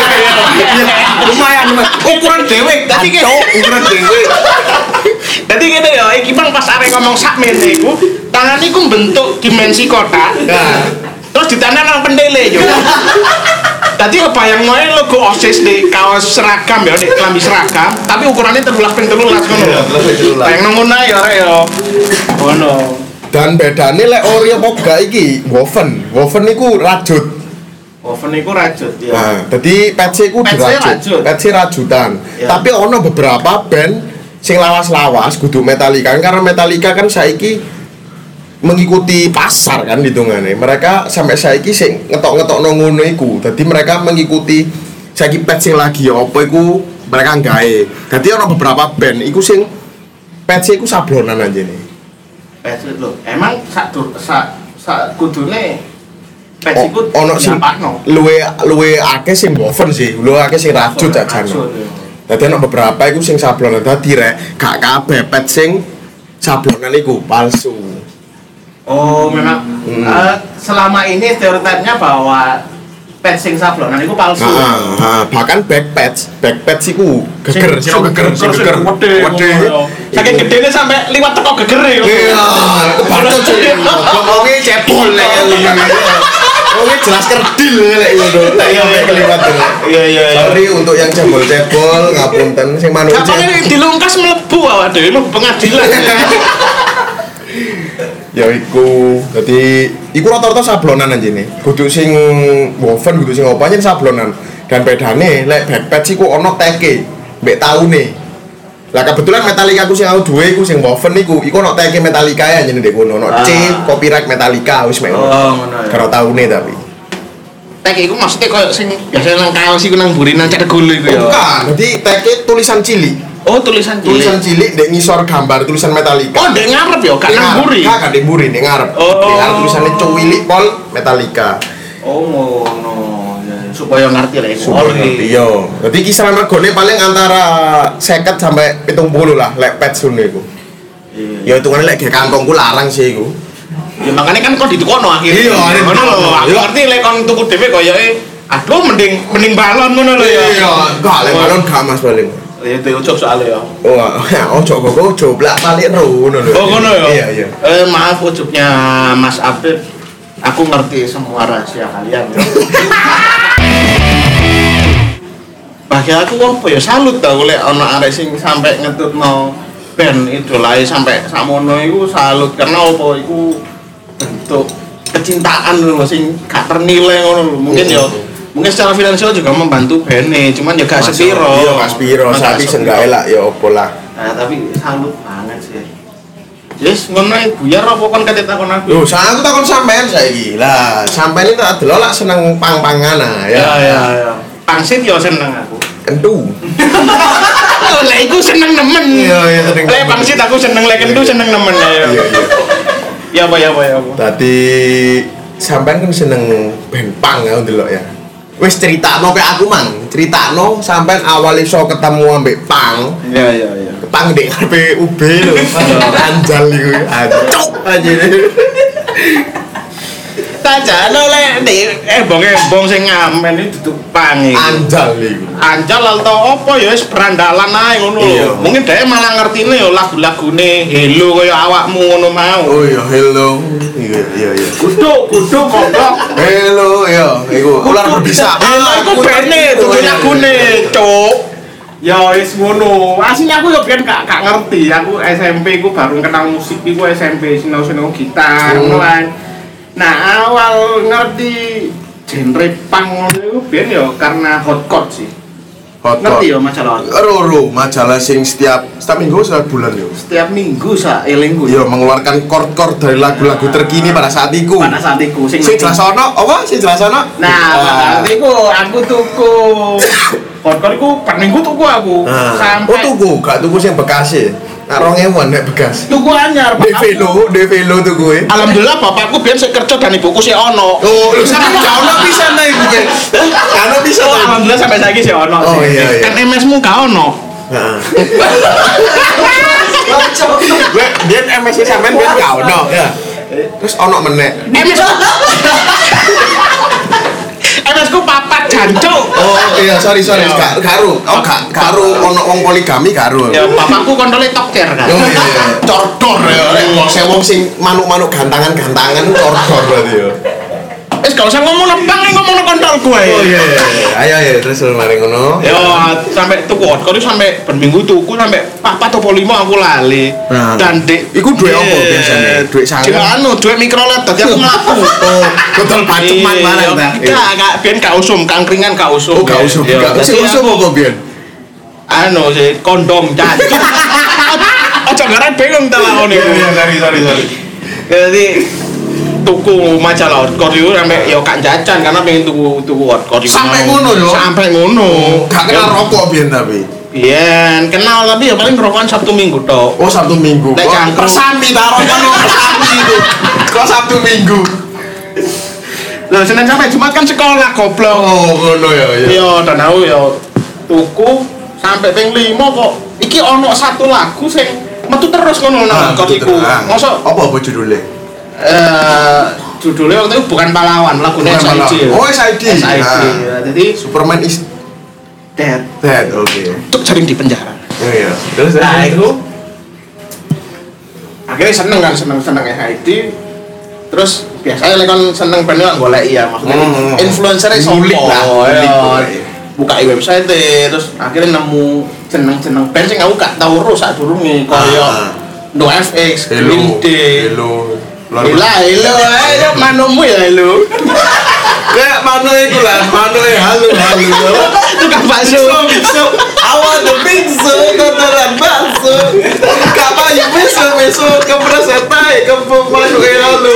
S2: Lumayan ukuran dhewe
S1: dadi
S2: kene ukuran dhewe.
S1: Dadi ngene ya iki bang pas arek ngomong sakmene iku tangan iku bentuk dimensi kotak.
S2: Nah,
S1: terus ditanam nang pendele yo. Dadi kebayang wae logo OSIS di kaos seragam ya, di klambi seragam, tapi ukurannya tiga belas ping tiga belas ngono. Bayang nang ngono ya arek ya. Ngono.
S2: Dan bedane lek ori apa gak iki, woven. Woven iku rajut.
S1: Oven iku rajut ya.
S2: Nah, dadi patch iku dirajut. Patch rajutan. Ya. Tapi ono beberapa band sing lawas-lawas kudu Metallica karena Metallica kan saiki mengikuti pasar kan hitungane. Mereka sampai saiki sing ngetok-ngetokno ngono iku. Dadi mereka mengikuti saiki patch sing lagi apa iku mereka gawe. Dadi ono beberapa band iku sing patch iku sablonan anjene.
S1: Patch lho. Emang sak sak sak kudune patch iku
S2: ono sing luwe luwe akeh sing woven sih, luwe akeh sing rajut jajane. Dadi ono beberapa iku sing sablonan dadi rek gak kabeh patch sing sablonan iku palsu.
S1: Oh, memang hmm. uh, selama ini stereotipnya bahwa patch sing sablonan iku palsu.
S2: Heeh, nah, bahkan back patch, back patch iku geger, sing geger, geger gede.
S1: Saking gedene sampai liwat teko gegere yo.
S2: Iya, kebacut sih. Ngomongi cepol lek ngene. Oh, jelas kerdil lek ngono. Tak yo keliwat.
S1: Iya iya iya.
S2: Sorry untuk yang cebol-cebol, ngapunten sing manusia.
S1: Kapan dilungkas mlebu awak dhewe mlebu pengadilan.
S2: Ya iku, dadi iku rata-rata sablonan anjene. Kudu sing woven, kudu sing apa nyen sablonan. Dan bedane lek backpatch iku ono teke mbek taune. Lah kebetulan Metallica aku sing aku duwe iku sing woven iku, iku ono teke Metallica ya anjene ndek kono, ono C copyright Metallica wis mek ngono. Oh, ngono. Karo taune tapi.
S1: Teke iku maksudnya koyo sing biasa nang kaos iku nang buri nang cedek gulu iku ya.
S2: Bukan, dadi teke tulisan cilik.
S1: Oh, tulisan cilik.
S2: Tulisan cilik ndek ngisor gambar tulisan Metallica.
S1: Oh, ndek ngarep ya, gak nang buri.
S2: Gak ndek buri, ndek ngarep.
S1: Oh.
S2: Ndek ngarep tulisane Cuwilik Pol Metallica.
S1: Oh, ngono. Supaya ngerti lah iku.
S2: Supaya ngerti yo. Dadi kisaran regane paling antara seket sampai pitung puluh lah lek patch ngono iku. Iya. Ya hitungane lek ge kantongku larang sih iku.
S1: Ya makane kan kok ditukono akhirnya.
S2: Iya,
S1: ngono lho. Aku ngerti lek kon tuku dhewe koyoke aduh mending mending balon ngono lho ya.
S2: Iya, gak lek balon gak Mas paling.
S1: Ya itu ucap soalnya ya.
S2: Oh, ojo kok ojo blak balik ngono lho.
S1: Oh ngono ya.
S2: Iya, iya.
S1: Eh maaf ucapnya Mas Abid. Aku ngerti semua rahasia kalian. Ya. Bagi aku apa ya salut ta oleh ana arek sing sampai ngetutno band idolae sampai sakmono iku salut karena apa iku bentuk kecintaan lho sing gak ternilai ngono lho. Mungkin ya mungkin secara finansial juga membantu bene, cuman ya gak sepiro.
S2: Iya, gak sepiro, tapi seenggaknya lah ya opo lah.
S1: Nah, tapi salut banget sih. Yes, ngono ae buyar apa kon kate takon aku.
S2: Lho, aku takon sampean saiki. Lah, sampean iki tak delok lak seneng pang-pangan ah ya.
S1: Ya ya ya. Pangsit yo seneng aku.
S2: Kentu.
S1: Lah iku seneng nemen.
S2: Iya, iya seneng.
S1: Lek pangsit aku seneng, lek kentu seneng nemen ya.
S2: Iya, iya.
S1: Ya apa ya apa ya apa.
S2: Tadi sampean kan seneng band pang ya ndelok ya. Wis critakno kayak aku mang, critakno sampean awal iso ketemu ambek pang.
S1: Iya iya iya.
S2: Pang ndek P U B lho. Anjal iku. Ancuk aja.
S1: Tajane lek ndek eh bonge bong sing ngamen iki duduk pang iki.
S2: Anjal iku.
S1: Anjal atau apa ya wis berandalan ae ngono lho. Mungkin dhek malah ngertine ya lagu-lagune Hello kaya awakmu ngono mau.
S2: Oh iya, hello. Iya iya iya.
S1: Kudu kudu goblok.
S2: Hello ya, iku ular berbisa.
S1: Hello iku bene dudu lagune, Cuk. Ya wis ngono. Asline aku yo biyen gak gak ngerti. Aku S M P ku baru kenal musik iku S M P sinau-sinau gitar ngono kan. Nah, awal ngerti genre punk ngono iku biyen yo karena hotcore sih.
S2: Hot
S1: Ngerti ya majalah hotcore?
S2: Roro, majalah sing setiap setiap minggu setiap bulan yo.
S1: Setiap minggu sak elingku
S2: Yo mengeluarkan chord-chord dari lagu-lagu terkini pada saat itu.
S1: pada saat iku sing
S2: Sing jelas ono, apa? Sing jelas ono?
S1: Nah, pada saat iku aku tuku hotcore iku per minggu tuku aku.
S2: Oh
S1: Sampai
S2: tuku, gak tuku sing bekas e. Nak rong ewan nek bekas.
S1: tuku anyar.
S2: De velo, de velo tuku e.
S1: Alhamdulillah bapakku biyen sik kerja dan ibuku sik ono.
S2: Oh, lu sampe gak ono pisan ta iku ke? Ono pisan.
S1: Oh, alhamdulillah sampai saiki sik ono
S2: Oh,
S1: sih.
S2: iya, iya.
S1: Kan M S-mu gak ono.
S2: Heeh. Gue dia M S sampean biyen gak ono. Ya. Terus ono meneh.
S1: M S M S ku papat jancuk.
S2: Oh iya, sorry sorry, gak garu. Oh gak garu ono wong poligami garu.
S1: Ya bapakku kontole tokcer kan.
S2: Oh iya iya. Cordor ya, nek wong sing wong sing manuk-manuk gantangan-gantangan cordor berarti ya.
S1: Wis gak usah ngomong nebang ngomong kontolku ae.
S2: Oh iya iya. Ayo ayo terus mari ngono.
S1: Yo sampai tuku hotcore sampai berminggu tuku sampai papat atau lima aku lali.
S2: Nah.
S1: Dan dek
S2: Iku duwe apa biasanya? Duwe sangen.
S1: Cuma anu duwe mikrolet dadi aku mlaku.
S2: Oh, botol paceman barang ta.
S1: Enggak, enggak ben gak usum, kangkringan gak usum.
S2: Oh gak usum. Gak usum apa biyen?
S1: Anu sih kondom cacat. Aja ngaran bingung ta lakone iku.
S2: Iya, sorry sorry sorry.
S1: Jadi tuku majalah hotcore itu sampai yo kak jajan karena pengen tuku tuku hotcore itu
S2: Sampai ngono yo.
S1: sampai ngono
S2: Gak kenal rokok biyen tapi.
S1: biyen kenal tapi ya paling rokokan Sabtu Minggu tok.
S2: Oh Sabtu Minggu.
S1: Nek cangkruk.
S2: Persami ta rokok no persami itu. Kok Sabtu Minggu.
S1: Lah Senin sampai Jumat kan sekolah goblok.
S2: Oh ngono ya ya.
S1: Yo dan aku yo tuku sampai ping lima kok iki ono satu lagu sing metu terus ngono nang hotcore iku. Mosok
S2: apa apa judulnya?
S1: eh judulnya waktu itu bukan pahlawan lagunya S I D.
S2: Oh S I D.
S1: S I D. Jadi
S2: Superman is
S1: dead.
S2: dead. Oke.
S1: Untuk jaring di penjara.
S2: Oh iya. Terus
S1: Nah itu akhirnya seneng kan seneng seneng S I D. Terus biasanya lek kon seneng band kan golek ya maksudnya
S2: Hmm.
S1: influencer-e sopo
S2: Ngulik lah, ngulik,
S1: ya.
S2: ngulik.
S1: Buka website terus akhirnya nemu jeneng-jeneng band sing aku gak tau ro sadurunge kaya
S2: Ah.
S1: No F X,
S2: Hello.
S1: Green Day.
S2: Hello.
S1: Gila, hello, ayo manumu ya hello.
S2: Kayak mano iku lah, mano e halo halo.
S1: Tukang bakso.
S2: So, awal the pizza kotoran bakso. Kapan you besok besok kepreset tai ke masuk e halo.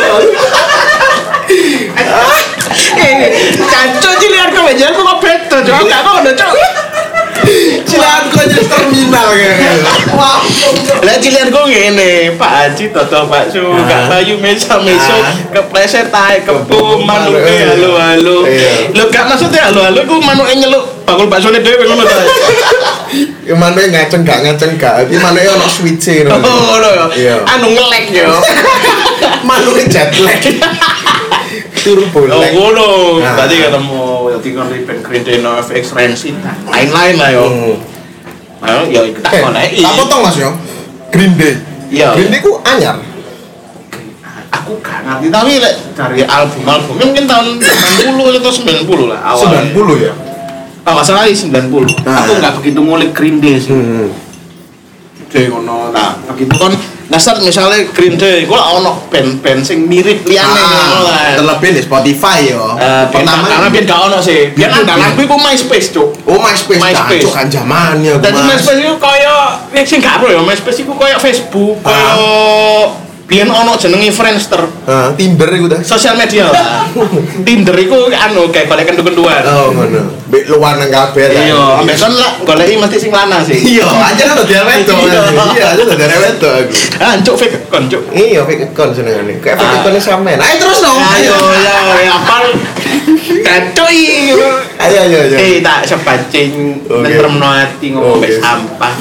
S1: Eh, cancok cilian kok aja kok beto, Cok. Gak ngono, Cok.
S2: Cilan kok jadi terminal kayak. Wah.
S1: Lah cilian kok ngene, Pak Haji toto bakso, gak bayu meso-meso, kepleset tae kebo manuke halo-halo. Lho gak maksudnya halo-halo ku manuke nyeluk bakul baksone dhewe ngono ta.
S2: Ya mano ngaceng gak ngaceng gak, iki mano ono switch-e ngono.
S1: Oh, ngono
S2: Iya.
S1: ya. Anu ngelek yo.
S2: Mano jet lag. Turbo
S1: Oh,
S2: lag.
S1: ngono.
S2: Nah.
S1: Tadi ketemu dadi kon Green Day, No F X, Rancid, lain-lain lah yo.
S2: Hmm.
S1: Ayo ya iku tak goleki.
S2: Tak potong Mas yo. Green Day.
S1: Iya.
S2: Green Day ku anyar.
S1: Aku gak ngerti tapi lek dari album-albumnya mungkin tahun delapan puluh atau sembilan puluh lah awal.
S2: sembilan puluh ya.
S1: Oh, nggak salah sembilan puluh.
S2: Nah,
S1: aku nggak begitu ngulik Green Day sih.
S2: Hmm.
S1: Jadi ngono. Nah, begitu kan dasar misalnya Green Day, gue lah ono band-band sing mirip liane ngono lah.
S2: Terlebih di Spotify yo.
S1: Eh, pertama karena biar gak ono sih. Biar andalan kuwi ku MySpace, Cuk.
S2: Oh, MySpace.
S1: MySpace
S2: Cuk, kan zamannya.
S1: Dan MySpace itu kaya nek sing gak pro ya, MySpace iku kaya Facebook, kaya biyen ono jenenge Friendster.
S2: Heeh, Tinder iku ta.
S1: Sosial media lah. Tinder iku anu kayak golek kendu-kenduan.
S2: Oh, ngono. Mbek luar nang kabeh ta.
S1: Iya, ambek kon lah goleki mesti sing lanang sih.
S2: Iya, aja kan udah wedok. Iya, aja udah wedok aku.
S1: Ah, cuk fake account, cuk.
S2: Iya, fake account senengane. Kayak fake account sampean. Ayo terus dong.
S1: Ayo, ya, ya apal. Kacoi.
S2: Ayo, ayo, ayo.
S1: Eh, tak sepancing nentremno ati ngomong mbek sampah.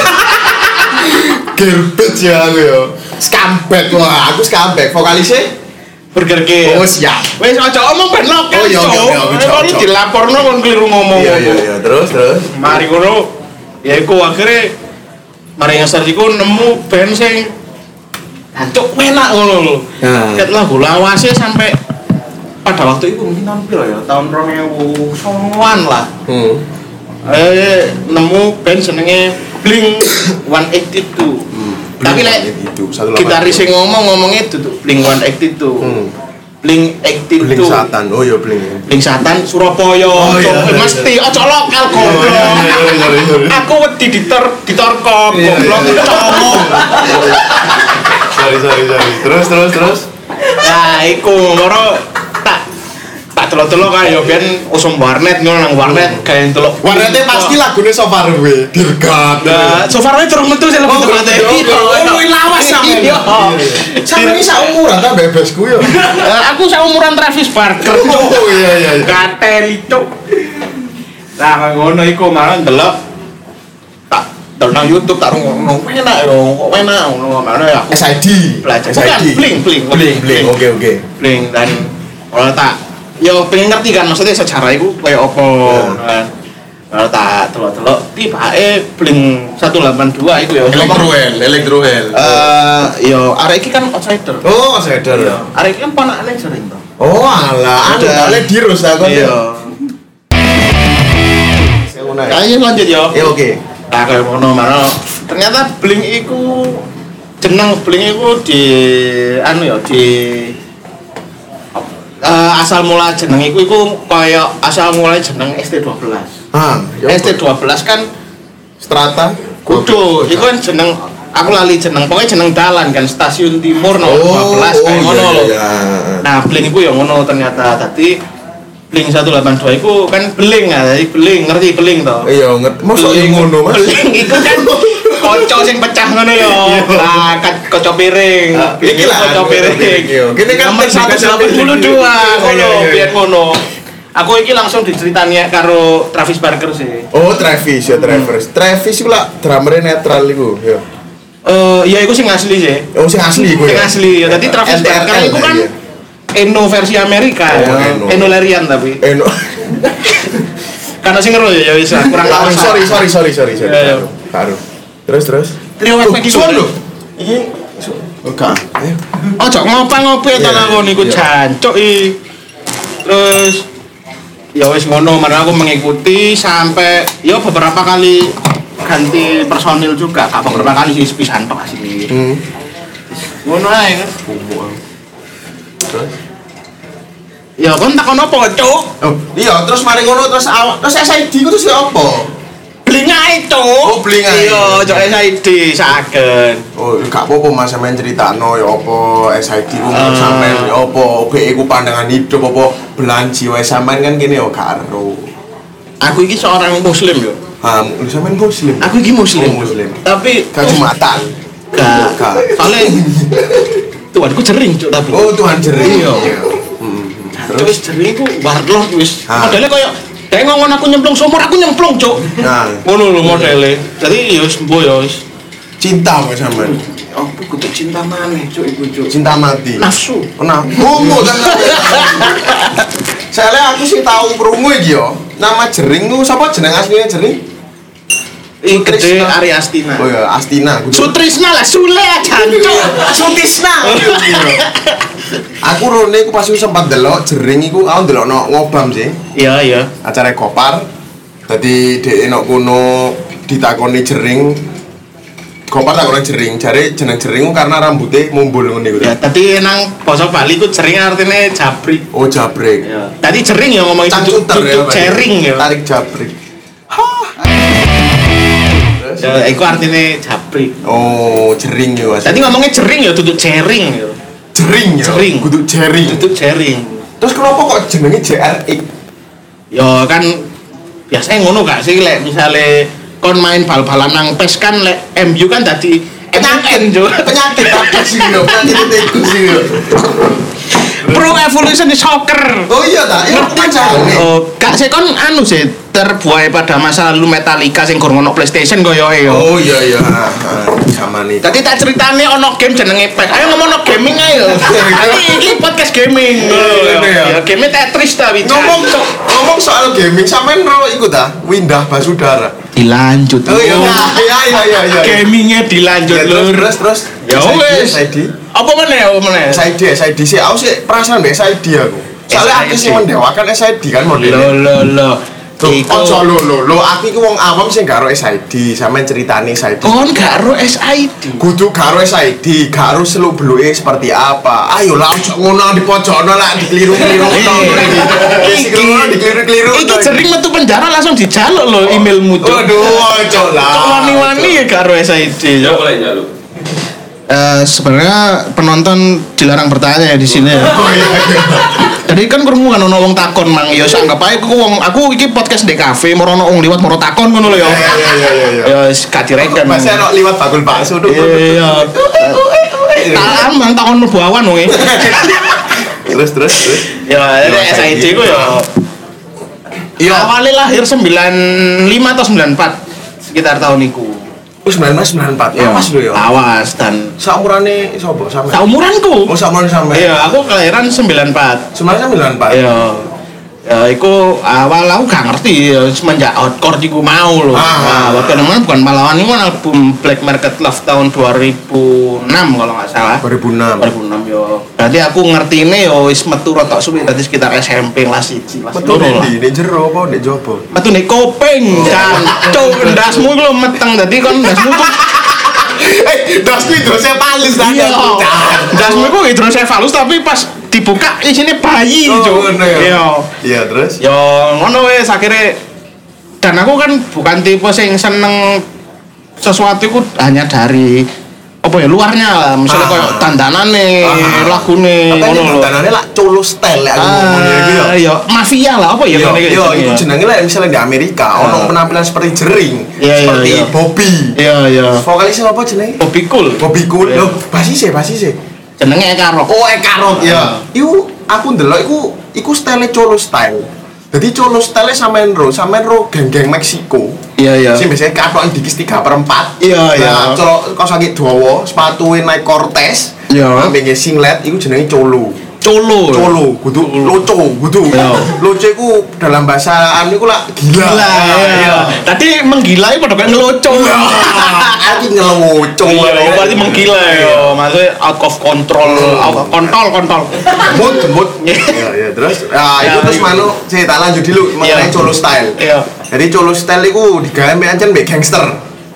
S2: Gerbet ya aku yo. Scumbag wah, aku scumbag. Vokalisnya
S1: Burger King.
S2: Oh siap.
S1: Wes aja omong ben lokal.
S2: Oh, iya, oke, oke, oke.
S1: Kon dilaporno kon keliru ngomong.
S2: Iya, iya, iya. Terus, terus.
S1: Mari ngono. Ya iku akhirnya mari ngeser iku nemu band sing hancuk enak ngono lho.
S2: Nah.
S1: Ket lagu lawase sampai pada waktu itu mungkin tampil ya tahun dua ribu sembilan lah.
S2: Hmm.
S1: Eh nemu band jenenge Blink seratus delapan puluh dua.
S2: Hmm.
S1: Tapi lek gitaris sing ngomong ngomongnya itu tuh Blink seratus delapan puluh dua. Hmm. Blink delapan puluh dua.
S2: Blink Satan. Oh iya Blink.
S1: Blink Satan Surabaya.
S2: Oh, iya, iya,
S1: mesti ojo lokal goblok. Aku wedi ditor ditorkop goblok ngomong.
S2: Sorry, sorry, sorry. Terus, terus, terus.
S1: Nah, iku moro tak tak delok-delok kae yo ben usum warnet ngono nang warnet gawe delok.
S2: Warnetnya pasti lagune So Far Away. Dirgat.
S1: Nah, so far durung metu sih lebih tepatnya.
S2: Oh, luwih lawas sampe. Sampe iki sak umuran ta bebesku yo.
S1: Aku sak umuran Travis Barker.
S2: Oh iya iya.
S1: Katel itu. Nah, ngono iku malah delok tak delok nang YouTube tak ngono enak yo, kok enak ngono mana ya.
S2: S I D.
S1: Belajar.
S2: S I D.
S1: Blink, blink,
S2: Blink, blink. Oke, oke.
S1: Blink dan ora tak yo pengen ngerti kan maksudnya sejarah iku kaya apa kan. Kalau tak delok-delok tibake Blink seratus delapan puluh dua iku ya.
S2: Electrohell, Electrohell.
S1: Eh yo arek iki kan outsider.
S2: Oh, outsider.
S1: Arek iki kan ponakane sering to.
S2: Oh, alah, ada ale dirus aku.
S1: Iya. Kayaknya lanjut ya.
S2: Ya oke.
S1: Nah, kayak ngono mana ternyata Blink iku jeneng Blink iku di anu ya di uh, asal mula jeneng iku iku kaya asal mulai jeneng S T dua belas.
S2: Ah,
S1: S T dua belas kan
S2: Strata
S1: kudu iku kan jeneng aku lali jeneng pokoknya jeneng dalan kan stasiun timur nomor dua belas kayak ngono lho. Nah, Blink iku ya ngono ternyata tadi Blink seratus delapan puluh dua itu kan beling ya, jadi beling, ngerti beling toh?
S2: Iya, ngerti. Masa ngono, Mas?
S1: Beling itu kan kocok sing pecah ngono ya. Nah, kocok piring. Iki kocok piring.
S2: Kene kan
S1: nomor seratus delapan puluh dua ngono, biar ngono. Aku iki langsung diceritani karo Travis Barker sih.
S2: Oh, Travis ya, Travis. Travis iku lah drummer netral iku, ya.
S1: Eh, ya iku sing asli sih.
S2: Oh, sing asli iku ya.
S1: Sing asli ya. Dadi Travis Barker iku kan Eno versi Amerika oh, ya, Eno. Eno Larian tapi. Eno. Karena sing ngero ya ya wis kurang lawas.
S2: Sorry sorry sorry sorry sorry.
S1: Ya,
S2: Karo. Terus terus.
S1: Trio Wet iki
S2: lho. Iki oke. Ayo.
S1: Ojo ngopo-ngopo ta lakon iku jancuk iki. Terus ya wis ngono, mana aku mengikuti sampai ya beberapa kali ganti personil juga, apa beberapa kali sih pisan tok asli. Hmm. Ngono ae kan. Terus ya kon takon apa, Cuk?
S2: Oh, iya, terus mari ngono terus awak terus S I D ku terus apa?
S1: Bling ae, Cuk.
S2: Oh, bling ae.
S1: Iya, Cuk S I D saken.
S2: Oh, gak apa-apa Mas sampean critakno ya apa S I D ku uh. sampean ya apa oke iku pandangan hidup apa belanji wae sampean kan kene ya gak ero.
S1: Aku iki seorang muslim yo.
S2: Ah, lu sampean muslim.
S1: Aku iki muslim.
S2: Oh, muslim.
S1: Tapi
S2: gak Jumatan.
S1: Gak. Soale Tuhanku jering, Cuk, tapi.
S2: Oh, Tuhan jering.
S1: Iya. Terus jering ku warlord wis. Modele koyo dek ngomong aku nyemplung sumur, aku nyemplung, Cuk. Nah, ngono lho modele. Jadi ya wis mbuh ya wis.
S2: Cinta kok sampean.
S1: Apa kudu cinta maneh, Cuk, iku, Cuk.
S2: Cinta mati.
S1: Nafsu.
S2: Nah, ngono kan. Soale aku sih tahu krungu iki yo. Nama jering ku sapa jeneng asline jering?
S1: Ing gede Ari Astina.
S2: Oh ya, Astina.
S1: Sutrisna lah, Sule jancuk.
S2: Sutisna. Aku rone aku pas sempat delok jering iku aku ndelokno ngobam sih.
S1: Iya, iya.
S2: Acara Gopar. Dadi dhek nok kono ditakoni jering. Gopar takoni jering, jare jeneng jering karena rambutnya mumbul ngene iku.
S1: Ya, tadi nang basa Bali ku jering artinya jabrik.
S2: Oh, jabrik.
S1: Ya. Tadi jering ya ngomongin
S2: duduk
S1: jering ya.
S2: Tarik jabrik.
S1: Ya, iku artinya jabrik.
S2: Oh, jering ya.
S1: Tadi ngomongnya jering ya, duduk jering ya.
S2: Jering ya.
S1: Jering.
S2: Kudu jering.
S1: Duduk jering.
S2: Terus kenapa kok jenenge J R X?
S1: Ya kan biasanya ngono gak sih lek misale kon main bal-balan nang P E S kan lek M U kan tadi
S2: penyakit jo. Penyakit apa sih yo? Penyakit itu sih yo.
S1: Pro Evolution Soccer.
S2: Oh iya ta, iya pancane.
S1: Oh, gak sih kon anu sih terbuai pada masa lalu Metallica sing gorong ono PlayStation koyoke yo.
S2: Oh iya iya, sama nih.
S1: Tadi tak ceritane ono game jenenge P E S. Ayo ngomongno gaming ayo. Tadi iki podcast gaming. Ya game Tetris ta wican.
S2: Ngomong ngomong soal gaming sampean ro iku ta, Windah Basudara.
S1: Dilanjut.
S2: Oh iya iya iya iya iya.
S1: Gamingnya dilanjut lur.
S2: Terus terus.
S1: Ya wes. Apa meneh apa meneh?
S2: S I D S I D sih aku sih perasaan mbek S I D aku. Soalnya aku sih mendewakan S I D kan modelnya.
S1: Lo lo lo.
S2: Iku ojo lo lo lo aku iku wong awam sing gak ro S I D, sampean ceritane S I D.
S1: Kon gak ro S I D.
S2: Kudu gak ro S I D, gak ro seluk-beluke seperti apa. Ayo lah ojo ngono di pojokno lah dikeliru-keliru to. Iki dikeliru-keliru.
S1: Iki jering metu penjara langsung dijaluk lo emailmu tuh.
S2: Waduh, ojo lah.
S1: Kok wani-wani ya gak ro S I D.
S3: Yo boleh njaluk.
S1: Eh sebenarnya penonton dilarang bertanya ya di sini ya.
S2: Oh iya.
S1: Jadi kan krungu kan ono wong takon mang ya anggap ae aku wong aku iki podcast di kafe moro ono wong liwat moro takon ngono lho ya.
S2: Iya iya iya iya.
S1: Ya wis gak direken.
S2: Masih ono liwat bakul bakso tuh.
S1: Iya. Tak amang takon mlebu awan wong.
S2: Terus terus terus.
S1: Ya S I D ku ya.
S2: Iya.
S1: Awalnya lahir sembilan lima atau sembilan empat sekitar tahun iku.
S2: Oh sembilan belas sembilan puluh empat.
S1: Ya,
S2: Awas lho ya.
S1: Awas dan
S2: Saumurane sapa sampean?
S1: saumuranku.
S2: Oh saumuran sampean.
S1: Iya, aku kelahiran sembilan empat.
S2: Sebenarnya sembilan empat.
S1: Iya. Ya, iku awal aku gak ngerti ya semenjak outcore iku mau loh.
S2: Ah.
S1: Nah, waktu namanya bukan pahlawan ini kan album Black Market Love tahun dua ribu enam kalau nggak salah.
S2: dua ribu enam.
S1: dua ribu enam yo. Berarti aku ngertine yo wis metu rotok suwi tadi sekitar S M P kelas satu kelas
S2: Betul
S1: loro lah.
S2: di jero apa nek jopo?
S1: Metu nek kopeng kan. Cuk ndasmu iku lho meteng dadi kon ndasmu tuh
S2: Eh, das itu hidrocephalus tadi.
S1: iya. Ndasmu iku hidrocephalus tapi pas dibuka isine bayi,
S2: Oh,
S1: Cuk.
S2: ngono ya?
S1: Iya.
S2: Iya, terus?
S1: Yo ngono wis akhirnya dan aku kan bukan tipe sing seneng sesuatu itu hanya dari apa ya luarnya lah misalnya
S2: Ah.
S1: kayak dandanane
S2: Ah.
S1: lagune
S2: Apa
S1: ngono
S2: ini
S1: lho.
S2: dandanane lak colo style lek aku ngomongnya iki ya.
S1: Ah, ya mafia lah apa ya
S2: Yo,
S1: ngene iki
S2: yo,
S1: jenenge
S2: itu
S1: ya.
S2: jenenge lah misalnya di Amerika, ono
S1: Ah.
S2: penampilan seperti jering,
S1: Iya, iya,
S2: seperti
S1: iya.
S2: Bobby.
S1: Iya iya.
S2: Vokalisnya apa jenenge?
S1: Bobby Cool.
S2: Bobby Cool.
S1: Iya.
S2: Loh, basis e, basis e.
S1: Jenenge Eka Rock.
S2: Oh, Eka Rock ya.
S1: Ah.
S2: Iku aku ndelok iku iku style colo style. Jadi colo style sampean ro, sampean ro geng-geng Meksiko.
S1: Iya iya.
S2: Sing biasanya katokan dikis tiga per empat.
S1: Iya, iya.
S2: Nah, colo kaos kaki dawa, sepatuke Nike Cortez.
S1: Iya.
S2: Ambek singlet iku jenenge colo.
S1: Colo.
S2: Colo, kudu loco, kudu.
S1: Iya.
S2: Loco iku dalam bahasa anu iku lah gila.
S1: Gila. Iya. Tadi menggila itu padha kayak ngeloco.
S2: Aku ngeloco.
S1: Iya, berarti menggila ya. Maksudnya out of control, out of control, kontrol.
S2: Mood, mood. Iya, iya, terus ah
S1: Ya,
S2: itu terus
S1: iya.
S2: manu saya tak lanjut dulu mengenai
S1: Iya.
S2: colo style.
S1: Iya.
S2: Jadi colo style iku digawe mbek ancen mbek gangster.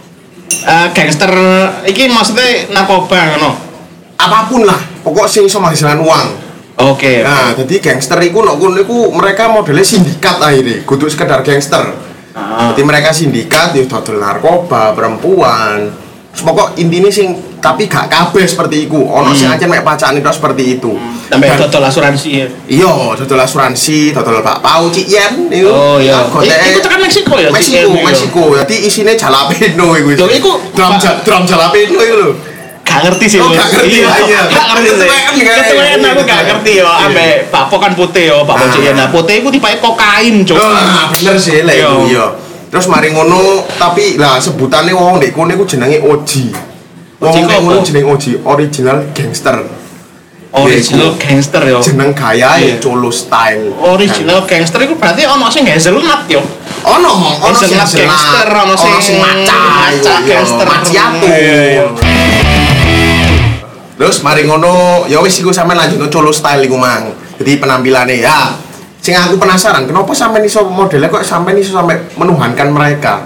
S1: Eh, gangster iki maksudnya narkoba ngono.
S2: Apapun lah, pokok sing iso menghasilkan uang.
S1: Oke.
S2: Nah, jadi gangster iku nok kono iku mereka modelnya sindikat akhirnya, kudu sekedar gangster.
S1: Ah.
S2: Jadi mereka sindikat ya dodol narkoba, perempuan. Terus pokok intine sing tapi gak kabeh seperti iku. Ono sing ancen mek pacane tok seperti itu.
S1: Sampai
S2: Dan-
S1: total asuransi ya.
S2: Iya, dodol asuransi, dodol bakpao Cik Yen iku.
S1: Oh iya.
S2: Gotek-
S1: I- Iku tekan Meksiko ya?
S2: Meksiko,
S1: Cik Yen iku?
S2: Meksiko. Jadi isine jalapeno iku.
S1: Loh, iku-
S2: drum ja- drum jalapeno iku lho.
S1: Gak ngerti sih.
S2: Oh,
S1: Lur.
S2: gak ngerti,
S1: Iya,
S2: iya.
S1: gak ngerti sih.
S2: Ketuaan, kan?
S1: Ketuaan aku
S2: Iya.
S1: gak ngerti ya.
S2: Iya.
S1: Ambek bakpo kan putih ya, bakpo
S2: Ah.
S1: Cik Yen. Nah, putih iku tipake kokain, Cuk.
S2: Ah, bener sih lek
S1: Iya.
S2: iku, iya. Terus mari ngono, tapi lah sebutane wong ndek kono iku jenenge O G. Wong
S1: O G
S2: ndek
S1: apa?
S2: kono jenenge O G, original gangster.
S1: Original gangster ya.
S2: Jeneng gayae
S1: Iya.
S2: colo style.
S1: Original gangster iku berarti ono sing hazelnut ya.
S2: ono ono
S1: sing gangster, ono sing
S2: maca,
S1: maca gangster,
S2: macchiato. Terus mari ngono, ya wis iku sampean lanjut Colo style iku mang. Jadi penampilannya ya. Sing aku penasaran, kenapa sampean iso modelnya kok sampean iso sampai menuhankan mereka?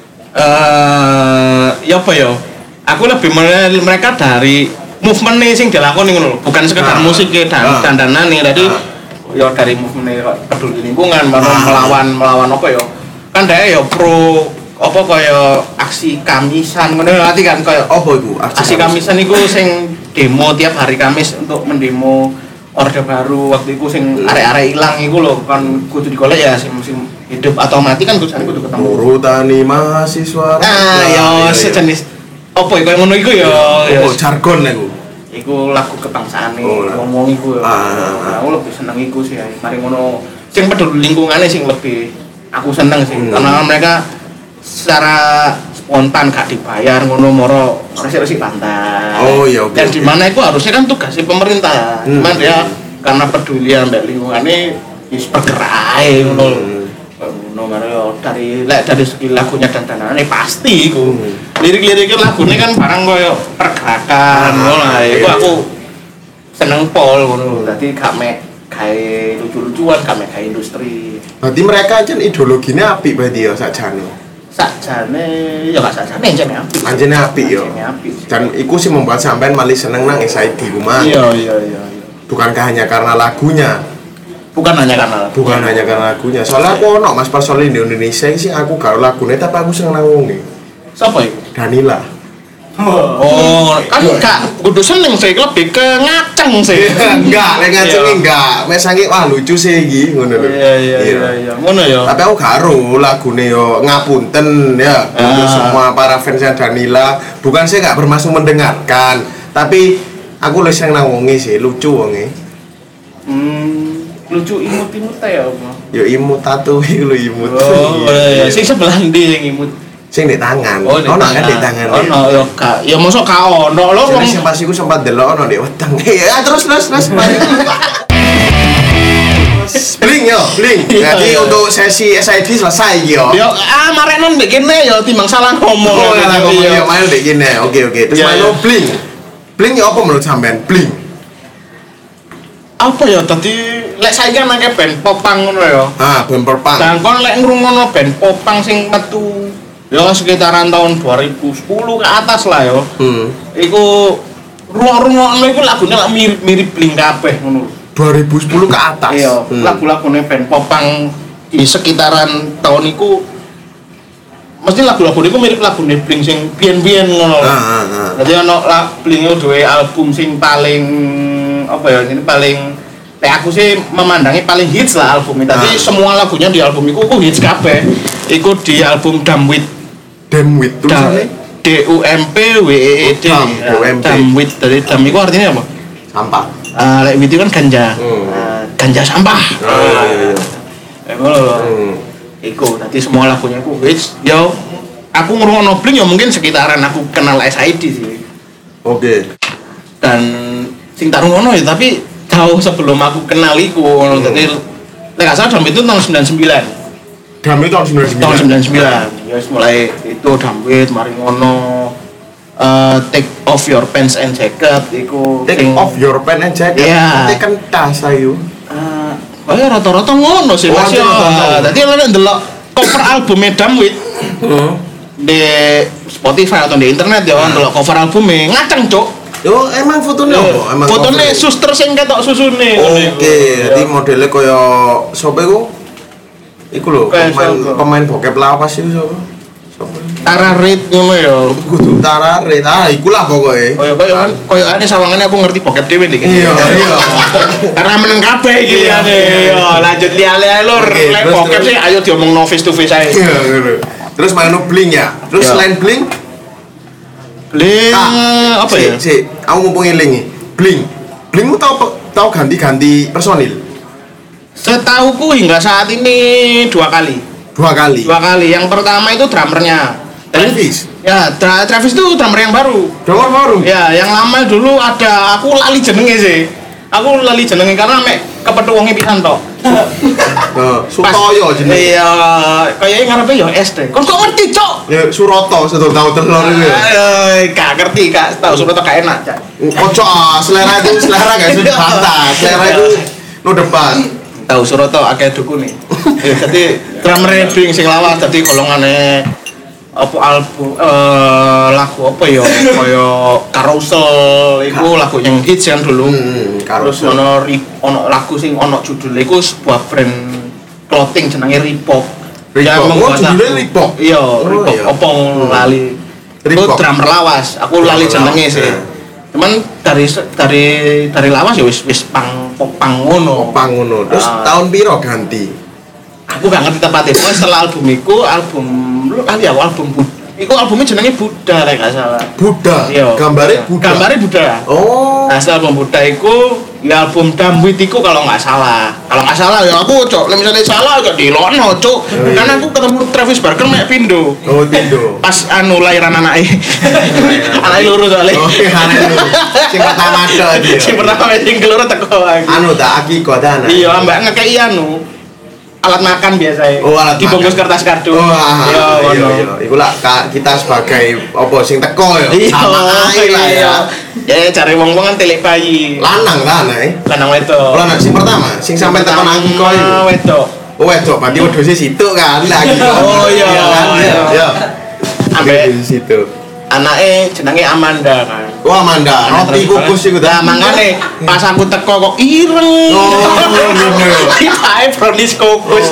S1: Eh, ya apa ya? Aku lebih menilai mereka dari movement nih sing dilakoni ngono lho, bukan sekedar
S2: Ah.
S1: musik dan
S2: Ah.
S1: dandanan nih tadi.
S2: Ah.
S1: Ya dari movement kok peduli lingkungan, baru melawan melawan apa ya? Kan dia ya pro apa kaya aksi Kamisan ngono ngerti kan kaya
S2: Apa iku?
S1: aksi Kamisan iku sing demo tiap hari Kamis untuk mendemo Orde Baru waktu itu sing arek-arek ilang iku lho kan kudu digolek ya sing sing hidup atau mati kan kudu kudu ketemu.
S2: Urutani mahasiswa.
S1: Ah ya sejenis apa ya kaya ngono iku ya.
S2: Oh, jargon iku.
S1: Iku lagu kebangsaan
S2: Oh, lah.
S1: ngomong iku ya.
S2: Ah.
S1: Aku lebih seneng iku sih ya. Mari ngono sing peduli lingkungannya sing lebih aku seneng sih
S2: Hmm.
S1: karena mereka secara spontan gak dibayar ngono moro resik-resik pantai.
S2: Oh, iya, oke,
S1: Dan
S2: oke.
S1: di mana itu harusnya kan tugasnya pemerintah.
S2: Hmm.
S1: Cuman ya karena peduli ambek lingkungannya wis bergerak ae ngono.
S2: Hmm.
S1: Ngono maro dari lek dari segi lagunya dan danane pasti iku.
S2: Hmm.
S1: Lirik-liriknya lagunya kan barang koyo pergerakan
S2: Ah,
S1: ngono lah. Iku
S2: iya.
S1: aku seneng pol ngono. Dadi gak mek gawe lucu-lucuan, gak mek gawe industri.
S2: Berarti mereka aja ideologinya apik berarti ya sakjane.
S1: Sakjane ya gak sakjane jane apik.
S2: Anjene apik yo.
S1: Jane apik.
S2: Dan iku sih membuat sampean malah seneng nang S I D ku mah.
S1: Iya iya iya iya.
S2: Bukankah hanya karena lagunya?
S1: Bukan hanya karena
S2: Bukan hanya karena lagunya. Soalnya aku ono Mas personil di Indonesia sih aku gak lagune tapi aku seneng nang wonge.
S1: Sapa iku?
S2: Danila.
S1: Oh, kan gak kudu seneng sih, lebih ke ngaceng sih.
S2: Enggak, lek ngacenge enggak. Mes sange wah lucu sih iki ngono lho.
S1: Iya iya iya iya. Ngono ya.
S2: Tapi aku gak ero lagune yo ngapunten ya untuk
S1: Ah.
S2: semua para fansnya Danila. Bukan saya gak bermaksud mendengarkan, tapi aku lu seneng nang wonge sih, lucu wonge.
S1: Hmm, lucu imut-imut ya apa?
S2: Yo imut tato iki lho imut.
S1: Oh, iya. Sing sebelah ndi sing imut?
S2: Sing di tangan.
S1: Oh, di
S2: Ono kan
S1: tangan.
S2: di tangan.
S1: Ono ya gak. Ya mosok ka ono lho wong.
S2: Jadi sing pas iku sempat delok ono di weteng. Ya terus terus terus. mari. Bling yo, bling.
S1: Iya,
S2: Jadi
S1: iya.
S2: untuk sesi S I D selesai iki yo.
S1: Ya ah marenon mbek kene ya timbang salah ngomong.
S2: Oh,
S1: ya,
S2: lah
S1: tapi
S2: ngomong
S1: ya.
S2: yo main dek gini. Oke oke. Terus
S1: Iya,
S2: main
S1: iya.
S2: bling. Bling yo apa menurut sampean? Bling.
S1: Apa ya tadi lek saiki kan nake band popang ngono ya.
S2: Ah, bumper pang.
S1: Dan kon lek ngrungokno band popang sing metu ya sekitaran tahun dua ribu sepuluh ke atas lah ya.
S2: Hmm.
S1: Iku rungok-rungokno iku lagune lak mirip-mirip Blink kabeh ngono.
S2: dua ribu sepuluh ke atas.
S1: Iya,
S2: Hmm.
S1: lagu-lagune band popang di sekitaran tahun iku mesti lagu-lagu iku mirip lagune Blink sing biyen-biyen ngono.
S2: Ah, ah, ah.
S1: Dadi ono la- Blink itu duwe album sing paling apa ya ini paling kayak aku sih memandangi paling hits lah albumnya. Tapi
S2: Ah.
S1: semua lagunya di album itu aku hits kabeh. Iku di album Dumb With
S2: Damn with tulisannya
S1: D U M P W E E D.
S2: Oh, Dumb, D U M P.
S1: Dumb With dari Dumb itu artinya apa?
S2: sampah.
S1: Ah, lek with itu kan ganja.
S2: Hmm.
S1: Ah, ganja sampah.
S2: Oh, iya, iya, iya.
S1: Eh, ngono lho.
S2: Hmm.
S1: Iku tadi semua lagunya aku hits. Yo aku ngrungokno Blink ya mungkin sekitaran aku kenal S I D sih.
S2: Oke.
S1: Dan sing tak rungokno ya tapi jauh sebelum aku kenal iku ngono. Dadi lek gak salah Dumb itu tahun sembilan puluh sembilan.
S2: Damn itu tahun sembilan puluh sembilan.
S1: Tahun sembilan puluh sembilan. Ya wis mulai itu Dumb It, mari ngono. Eh, take off your pants and jacket iku
S2: Take
S1: sing-
S2: off your pen and jacket.
S1: Iya.
S2: Take kan tas ayu.
S1: Eh, oh ya rata-rata ngono sih
S2: Oh,
S1: Mas. Ya.
S2: rata-rata.
S1: Dadi lek ndelok cover albumnya Dumb It
S2: Heeh.
S1: di Spotify atau di internet ya ndelok cover albumnya ngaceng cuk.
S2: Yo emang fotonya apa? Emang
S1: Fotone
S2: cover-nya?
S1: suster sing ketok susune.
S2: Oke, jadi modelnya kaya sapa iku? Iku lho,
S1: Kayak
S2: pemain
S1: siapa?
S2: pemain bokep lawas iku sapa? Sapa?
S1: Tara Reid ngono ya.
S2: Kudu Tarare. Ah, iku lah pokoke.
S1: Koyo koyo kan koyo ane sawangane aku ngerti bokep dhewe iki.
S2: Iya, iya.
S1: Karena meneng kabeh iki
S2: Iya,
S1: liyane.
S2: iya.
S1: Yo, lanjut liya-liya lur.
S2: Oke,
S1: Lek
S2: terus,
S1: bokep
S2: terus.
S1: sih ayo diomongno face to face ae.
S2: Iya, ngono. Terus main bling ya. Terus
S1: Iya.
S2: selain bling,
S1: Bling
S2: ah,
S1: apa
S2: si,
S1: ya?
S2: Si, aku mumpung eling nih. Bling. Blingmu tau tau ganti-ganti personil
S1: Setauku hingga saat ini dua kali.
S2: dua kali.
S1: Dua kali. Yang pertama itu drummernya.
S2: Travis.
S1: Ya, Tra- Travis itu drummer yang baru.
S2: Drummer baru.
S1: Ya, yang lama dulu ada aku lali jenenge sih. Aku lali jenenge karena mek kepethuk wonge pisan tok.
S2: Heeh, Sutoyo jenenge.
S1: Iya, kayaknya ngarepe ya S D. Kok kok ngerti, Cok?
S2: Ya Suroto sedul tahu telur itu ya.
S1: Eh, gak ngerti, Kak. Tahu Suroto gak enak, Cak.
S2: Ojo ah, selera itu selera guys, itu bantah. Selera itu no depan.
S1: Tahu Suroto akeh dukune. Ya dadi drummer Bing sing lawas dadi golongane apa album eh lagu apa ya kaya Carousel iku lagu yang hits kan dulu.
S2: Hmm,
S1: Terus ono ono lagu sing ono judule iku sebuah brand clothing jenenge Reebok.
S2: Reebok. Oh, judulnya Reebok.
S1: Iya,
S2: Oh,
S1: Reebok.
S2: iya.
S1: Opo lali.
S2: Reebok.
S1: Itu drummer lawas. Aku lali jenenge sih.
S2: Iya.
S1: Cuman dari dari dari lawas ya wis wis pang pang ngono.
S2: Pang ngono. Terus
S1: Ah.
S2: tahun piro ganti?
S1: Aku gak ngerti tepatnya. Pokoknya setelah album iku album lu kali aku album Buddha. Iku albumnya jenenge Buddha rek gak salah.
S2: Buddha.
S1: Iya.
S2: Gambarnya Buddha.
S1: Gambarnya Buddha.
S2: Oh.
S1: Nah, setelah album Buddha iku ya album Damwit iku kalau nggak salah. Kalau nggak salah ya aku cok. Lah misalnya salah gak dilono cok.
S2: iya.
S1: Karena aku ketemu Travis Barker mek pindo.
S2: Oh, Tindo.
S1: Pas anu lahiran anake. Anake loro soalnya.
S2: Oh, iya, anake loro. Sing pertama ada dia.
S1: Sing pertama sing keloro teko aku.
S2: Anu tak akiko ta anak.
S1: Iya, mbak ngekei anu alat makan biasa.
S2: Oh, alat
S1: dibungkus
S2: makan.
S1: kertas kardus.
S2: Oh, ah,
S1: Iya,
S2: iya,
S1: ngono.
S2: iya. Iku lah ka- kita sebagai apa sing teko ya.
S1: Iya,
S2: Sama ae lah ya.
S1: Ya cari wong-wong kan telik bayi.
S2: Lanang ta anak.
S1: Lanang wedok.
S2: Lanang sing pertama, sing sampai tekan akiko iku.
S1: Wedok.
S2: Oh, wedok, berarti wedose situ kan lagi.
S1: Oh, iya.
S2: kan. Iya. Iya.
S1: Ambek
S2: Di situ.
S1: anake jenenge Amanda kan.
S2: Wah, Amanda, roti kukus iku
S1: Lah
S2: ta.
S1: mangane pas aku teko kok ireng.
S2: Oh, ngono.
S1: Tibae brownies kukus.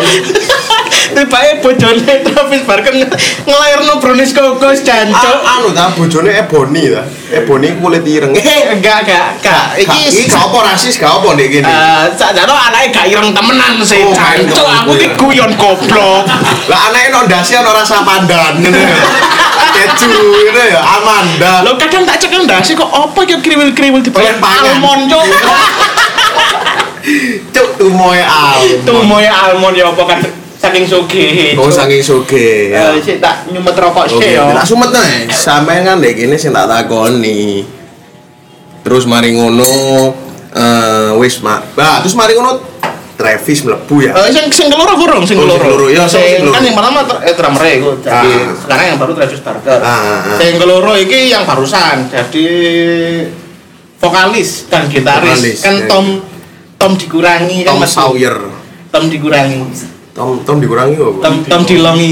S1: Tibae bojone Travis Barker ngelairno brownies kukus jancuk.
S2: Ah, anu ta bojone Ebony ta. Ebony kulit ireng.
S1: Enggak, enggak, enggak.
S2: Iki
S1: Iki
S2: gak apa rasis gak apa ndek kene.
S1: eh sakjane anake gak ireng temenan sih,
S2: Oh,
S1: jancuk.
S2: gak
S1: Aku ki
S2: ireng.
S1: guyon goblok.
S2: Lah anake no ndasi ono rasa pandan ngene ya. Keju ngene ya Amanda.
S1: Lo kadang tak cek ndase kok apa ki kriwil-kriwil di
S2: Pengen pangan.
S1: almond cuk.
S2: Cuk tumoe al.
S1: Tuh moe almond ya apa kan saking sugih.
S2: Oh saking sugih.
S1: Eh sik tak nyumet rokok
S2: Oke,
S1: sik ya.
S2: tak sumet nih. Sampeyan kan ndek kene sing tak takoni. Terus mari ngono eh wis mak. Bah, terus mari ngono Travis mlebu ya.
S1: Eh sing sing keloro burung, sing
S2: Oh, sing keloro.
S1: keloro.
S2: Iya, sing
S1: Sing
S2: keloro.
S1: kan yang pertama ter- eh drummer iku. Jadi
S2: Ah.
S1: sekarang yang baru Travis Barker.
S2: Ah, ah, ah.
S1: Sing keloro iki yang barusan. Jadi vokalis dan gitaris
S2: Vokalis,
S1: kan
S2: ya.
S1: Tom Tom dikurangi kan
S2: Tom
S1: Mas.
S2: Sawyer.
S1: Tom dikurangi.
S2: Tom Tom dikurangi apa?
S1: Tom Tom dilongi.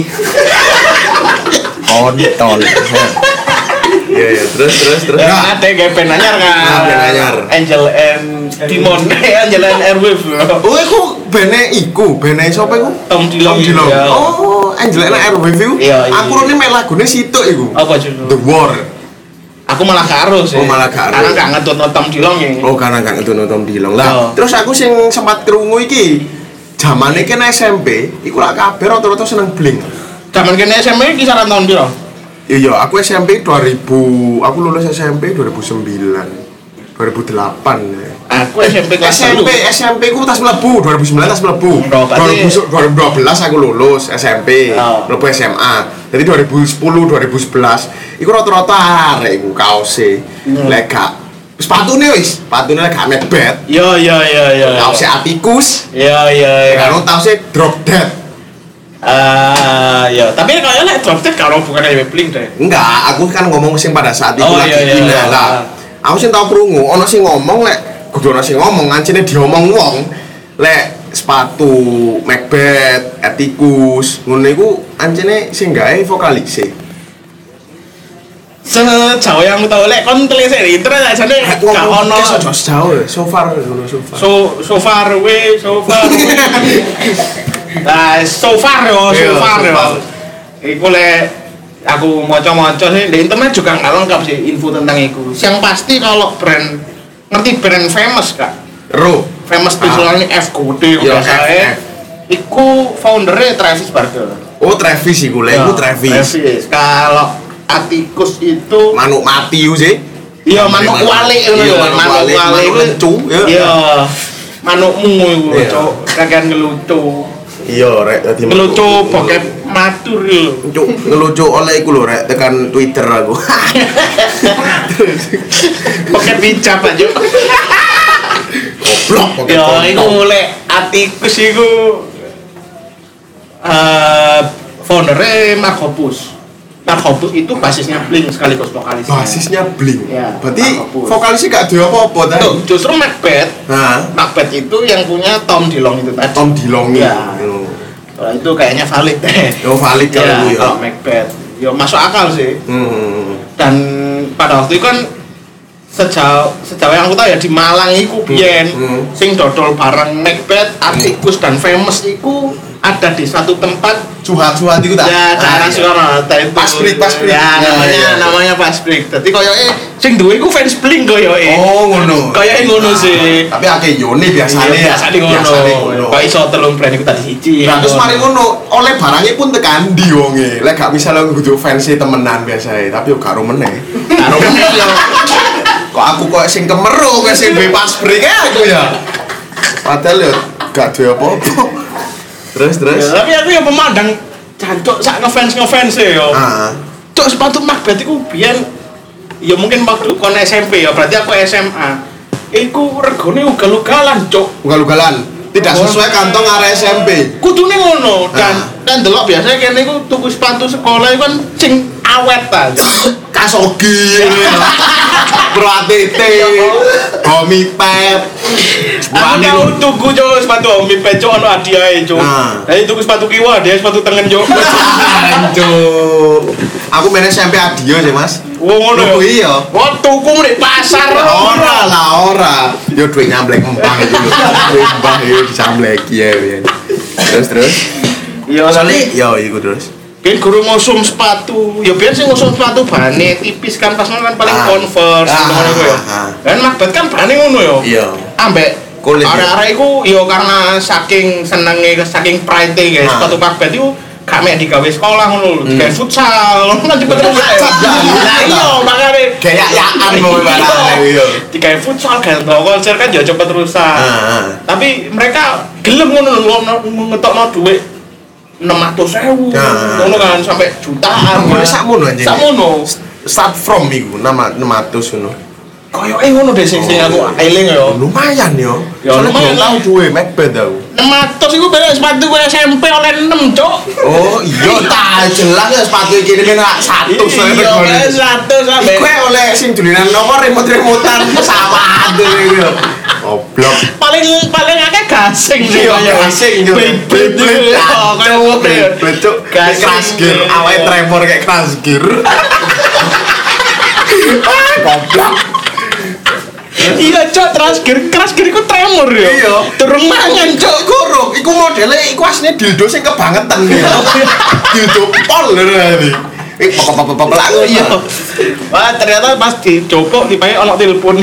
S2: Kontol. Iya ya, terus terus terus.
S1: Ya,
S2: Nah,
S1: ada kayak band anyar kan.
S2: Nah, band anyar.
S1: Angel and Demon, Angel and Airwave.
S2: oh iku bene iku, bene sapa iku?
S1: Tom Dilong.
S2: Tom Dilong.
S1: Ya.
S2: Oh, Angelina Airwave iku.
S1: Iya, iya.
S2: Aku rene mek lagune situk iku.
S1: Apa judul?
S2: The War.
S1: Aku malah karo sih.
S2: Oh, malah karo.
S1: Karena gak ngetut Tom Dilong ya.
S2: Oh, karena gak ngetune Tom Dilong. Lah,
S1: Oh.
S2: terus aku sing sempat krungu iki jamane kene S M P, iku lak kabeh rata-rata seneng Blink.
S1: Zaman kene S M P kisaran tahun piro?
S2: Iya, aku S M P dua ribu, aku lulus S M P dua ribu sembilan, dua ribu delapan. Ya.
S1: Aku S M P kelas
S2: S M P,
S1: satu.
S2: S M P ku tas mlebu, dua ribu sembilan tas mlebu.
S1: Oh, berarti-
S2: dua ribu dua belas aku lulus S M P,
S1: Oh.
S2: mlebu S M A. Jadi dua ribu sepuluh, dua ribu sebelas iku rata-rata arek iku kaose.
S1: Hmm.
S2: Lek gak sepatune wis, sepatune lek gak Macbeth,
S1: Yo yo yo yo.
S2: kaose Atticus,
S1: Yo yo yo.
S2: karo kaose Drop Dead.
S1: Ah, ya. Tapi kayaknya lek drop dead kalau bukan dari Blink deh.
S2: Enggak, aku kan ngomong sing pada saat itu
S1: Oh,
S2: lagi
S1: iya, iya,
S2: hina
S1: iya.
S2: lah. Aku sing tau krungu, ana sing ngomong lek kudu ana sing ngomong ngancine diomong wong lek sepatu Macbeth, Atticus, ngono iku ancene sing gawe vokalis e.
S1: Sejauh yang aku tahu lek kon telisik di internet aja nih gak ono.
S2: Ono jauh, so far ngono so far.
S1: So so far away, so far away. Nah, so far yo, so
S2: Iya,
S1: far
S2: so
S1: yo.
S2: far.
S1: Iku lek aku maca-maca sih di internet juga nggak lengkap sih info tentang itu. Yang pasti kalau brand ngerti brand famous kak,
S2: Ro.
S1: famous
S2: Ah.
S1: visualnya F Code
S2: Iya,
S1: biasa
S2: F,
S1: ya.
S2: F.
S1: Iku foundernya Travis Barker.
S2: Oh, Travis iku, lek iku
S1: Ya,
S2: Travis.
S1: Kalau Atticus itu
S2: Manuk mati ku sih.
S1: iya manuk walik ngono
S2: Iya,
S1: lho,
S2: manuk
S1: manuk
S2: walik,
S1: walik
S2: manuk
S1: iku.
S2: lencu, ya.
S1: Iya. Manukmu iku
S2: Iya.
S1: cok, kakean ngelucu.
S2: Iya, rek dadi
S1: Ngelucu bokep matur lho.
S2: Cuk, ngelucu oleh iku lho rek tekan Twitter aku.
S1: Bokep hijab aja.
S2: goblok
S1: Yo iku mulai atikus iku eh foundernya Mark Hoppus. Mark Hoppus itu basisnya Blink sekaligus vokalisnya.
S2: Basisnya Blink.
S1: Ya,
S2: Berarti
S1: Mark Hoppus.
S2: vokalisnya gak ada apa-apa tadi.
S1: Tuh, justru Macbeth.
S2: Nah,
S1: Macbeth itu yang punya Tom Dillon itu tadi.
S2: Tom Dillon
S1: Ya.
S2: itu.
S1: Kalau itu kayaknya valid deh.
S2: Oh, valid kalau
S1: Ya,
S2: itu ya.
S1: kalau Macbeth. Yo masuk akal sih.
S2: Hmm.
S1: Dan pada waktu itu kan sejauh sejauh yang aku tahu ya di Malang iku biyen
S2: Hmm.
S1: sing dodol bareng Macbeth, Atticus dan Famous iku ada di satu tempat
S2: Cuhat-cuhat itu tak?
S1: ya daerah
S2: Ah, iya.
S1: Soekarno itu
S2: Pas break, pas break.
S1: ya
S2: Ya,
S1: namanya
S2: iya.
S1: namanya pas break dadi koyoke sing duwe iku fans Blink koyoke
S2: Oh, ngono.
S1: koyoke ngono
S2: Ah,
S1: sih
S2: Tapi akeh yone biasane.
S1: Iya, biasane ngono
S2: Biasane ngono.
S1: kok iso telung brand iku tadi siji
S2: Nah, terus mari ngono, oleh barangnya pun tekan ndi wonge. Lek gak misalnya kudu fans temenan biasae, tapi yo gak ro meneh.
S1: karo meneh yo
S2: Kok aku kok sing kemeru kok sing bebas break ae aku ya. Padahal yo gak duwe apa-apa. Terus terus.
S1: Ya, tapi aku yang pemandang jancuk sak ngefans ngefans e yo.
S2: Ah.
S1: Cuk sepatu Macbeth iku biyen ya mungkin waktu kon S M P ya berarti aku S M A. Iku regane ugal-ugalan, Cuk.
S2: Ugal-ugalan. Tidak sesuai kantong area S M P.
S1: Kudune ngono dan
S2: Ah.
S1: dan delok biasanya kene iku tuku sepatu sekolah iku kan sing awet ta.
S2: Kasogi. Pro A T T. Homi Pep.
S1: Aku tau tuku Cuk sepatu Omi Peco ono hadiahe, Cuk.
S2: Nah.
S1: Lah tuku sepatu kiwa dia sepatu tengen, Cuk.
S2: Hancur. Aku main S M P Adio sih, Mas.
S1: Wong ngono
S2: Tuku
S1: ya.
S2: iya.
S1: Wah, tuku di pasar.
S2: Ora lah ora. Yo duit nyamblek empang itu lho. Duit empang yo disambleki ya. ya. Terus terus.
S1: Iya,
S2: Soalnya yo iku terus.
S1: Biar guru ngusum sepatu, ya biar sih ngusum sepatu bahannya tipis kan pas kan paling
S2: Ah.
S1: Converse
S2: Ah,
S1: ngono iku ya.
S2: ah, ah.
S1: Kan Macbeth kan bahannya ngono ya.
S2: Iya.
S1: Ambek
S2: Kulit, ya.
S1: arek-arek iku ya karena saking senenge saking pride guys,
S2: Ah.
S1: sepatu Macbeth iku gak mek digawe sekolah ngono lho, digawe futsal, ngono kan cepet terus. Lah iya makane
S2: Gaya-yaan mau ibaratnya iya.
S1: digawe futsal kan konser kan ya cepet rusak.
S2: Ah, ah.
S1: Tapi mereka gelem ngono lho ngetokno dhuwit enam ratus ribu
S2: Nah.
S1: ngono kan sampai jutaan
S2: Ngono
S1: kan.
S2: sakmono anjing.
S1: Sakmono
S2: Start from iku nama enam ratus ngono.
S1: koyoke ngono deh sing sing aku eling ya
S2: Lumayan yo.
S1: Ya,
S2: Soalnya
S1: lumayan
S2: belum
S1: lah.
S2: tahu duwe Macbeth tau.
S1: enam ratus iku beda sepatu gue S M P oleh enam cok
S2: Oh iya tak jelas ya sepatu iki kene satu
S1: iya oleh satu sampai
S2: Iku oleh sing dulinan nomor remote-remotan sama ada gitu. Goblok.
S1: paling paling akeh gasing sih
S2: Iya,
S1: kayak
S2: gasing, iya.
S1: Beyblade
S2: Beyblade,
S1: oh kayak
S2: Cuk,
S1: ngono ya
S2: Beyblade, Cuk. Kayak crash gear, awalnya tremor kayak crash gear. Ah, goblok.
S1: iya cok crash gear crash gear iku tremor ya
S2: Iya.
S1: turun mangan cok
S2: Cuk, kuruk, iku modelnya iku aslinya dildo sing kebangetan ya. Dildo pol lho tadi. Eh, pop-pop-pop lagu
S1: iya wah ternyata pas dicopok tiba ono telepon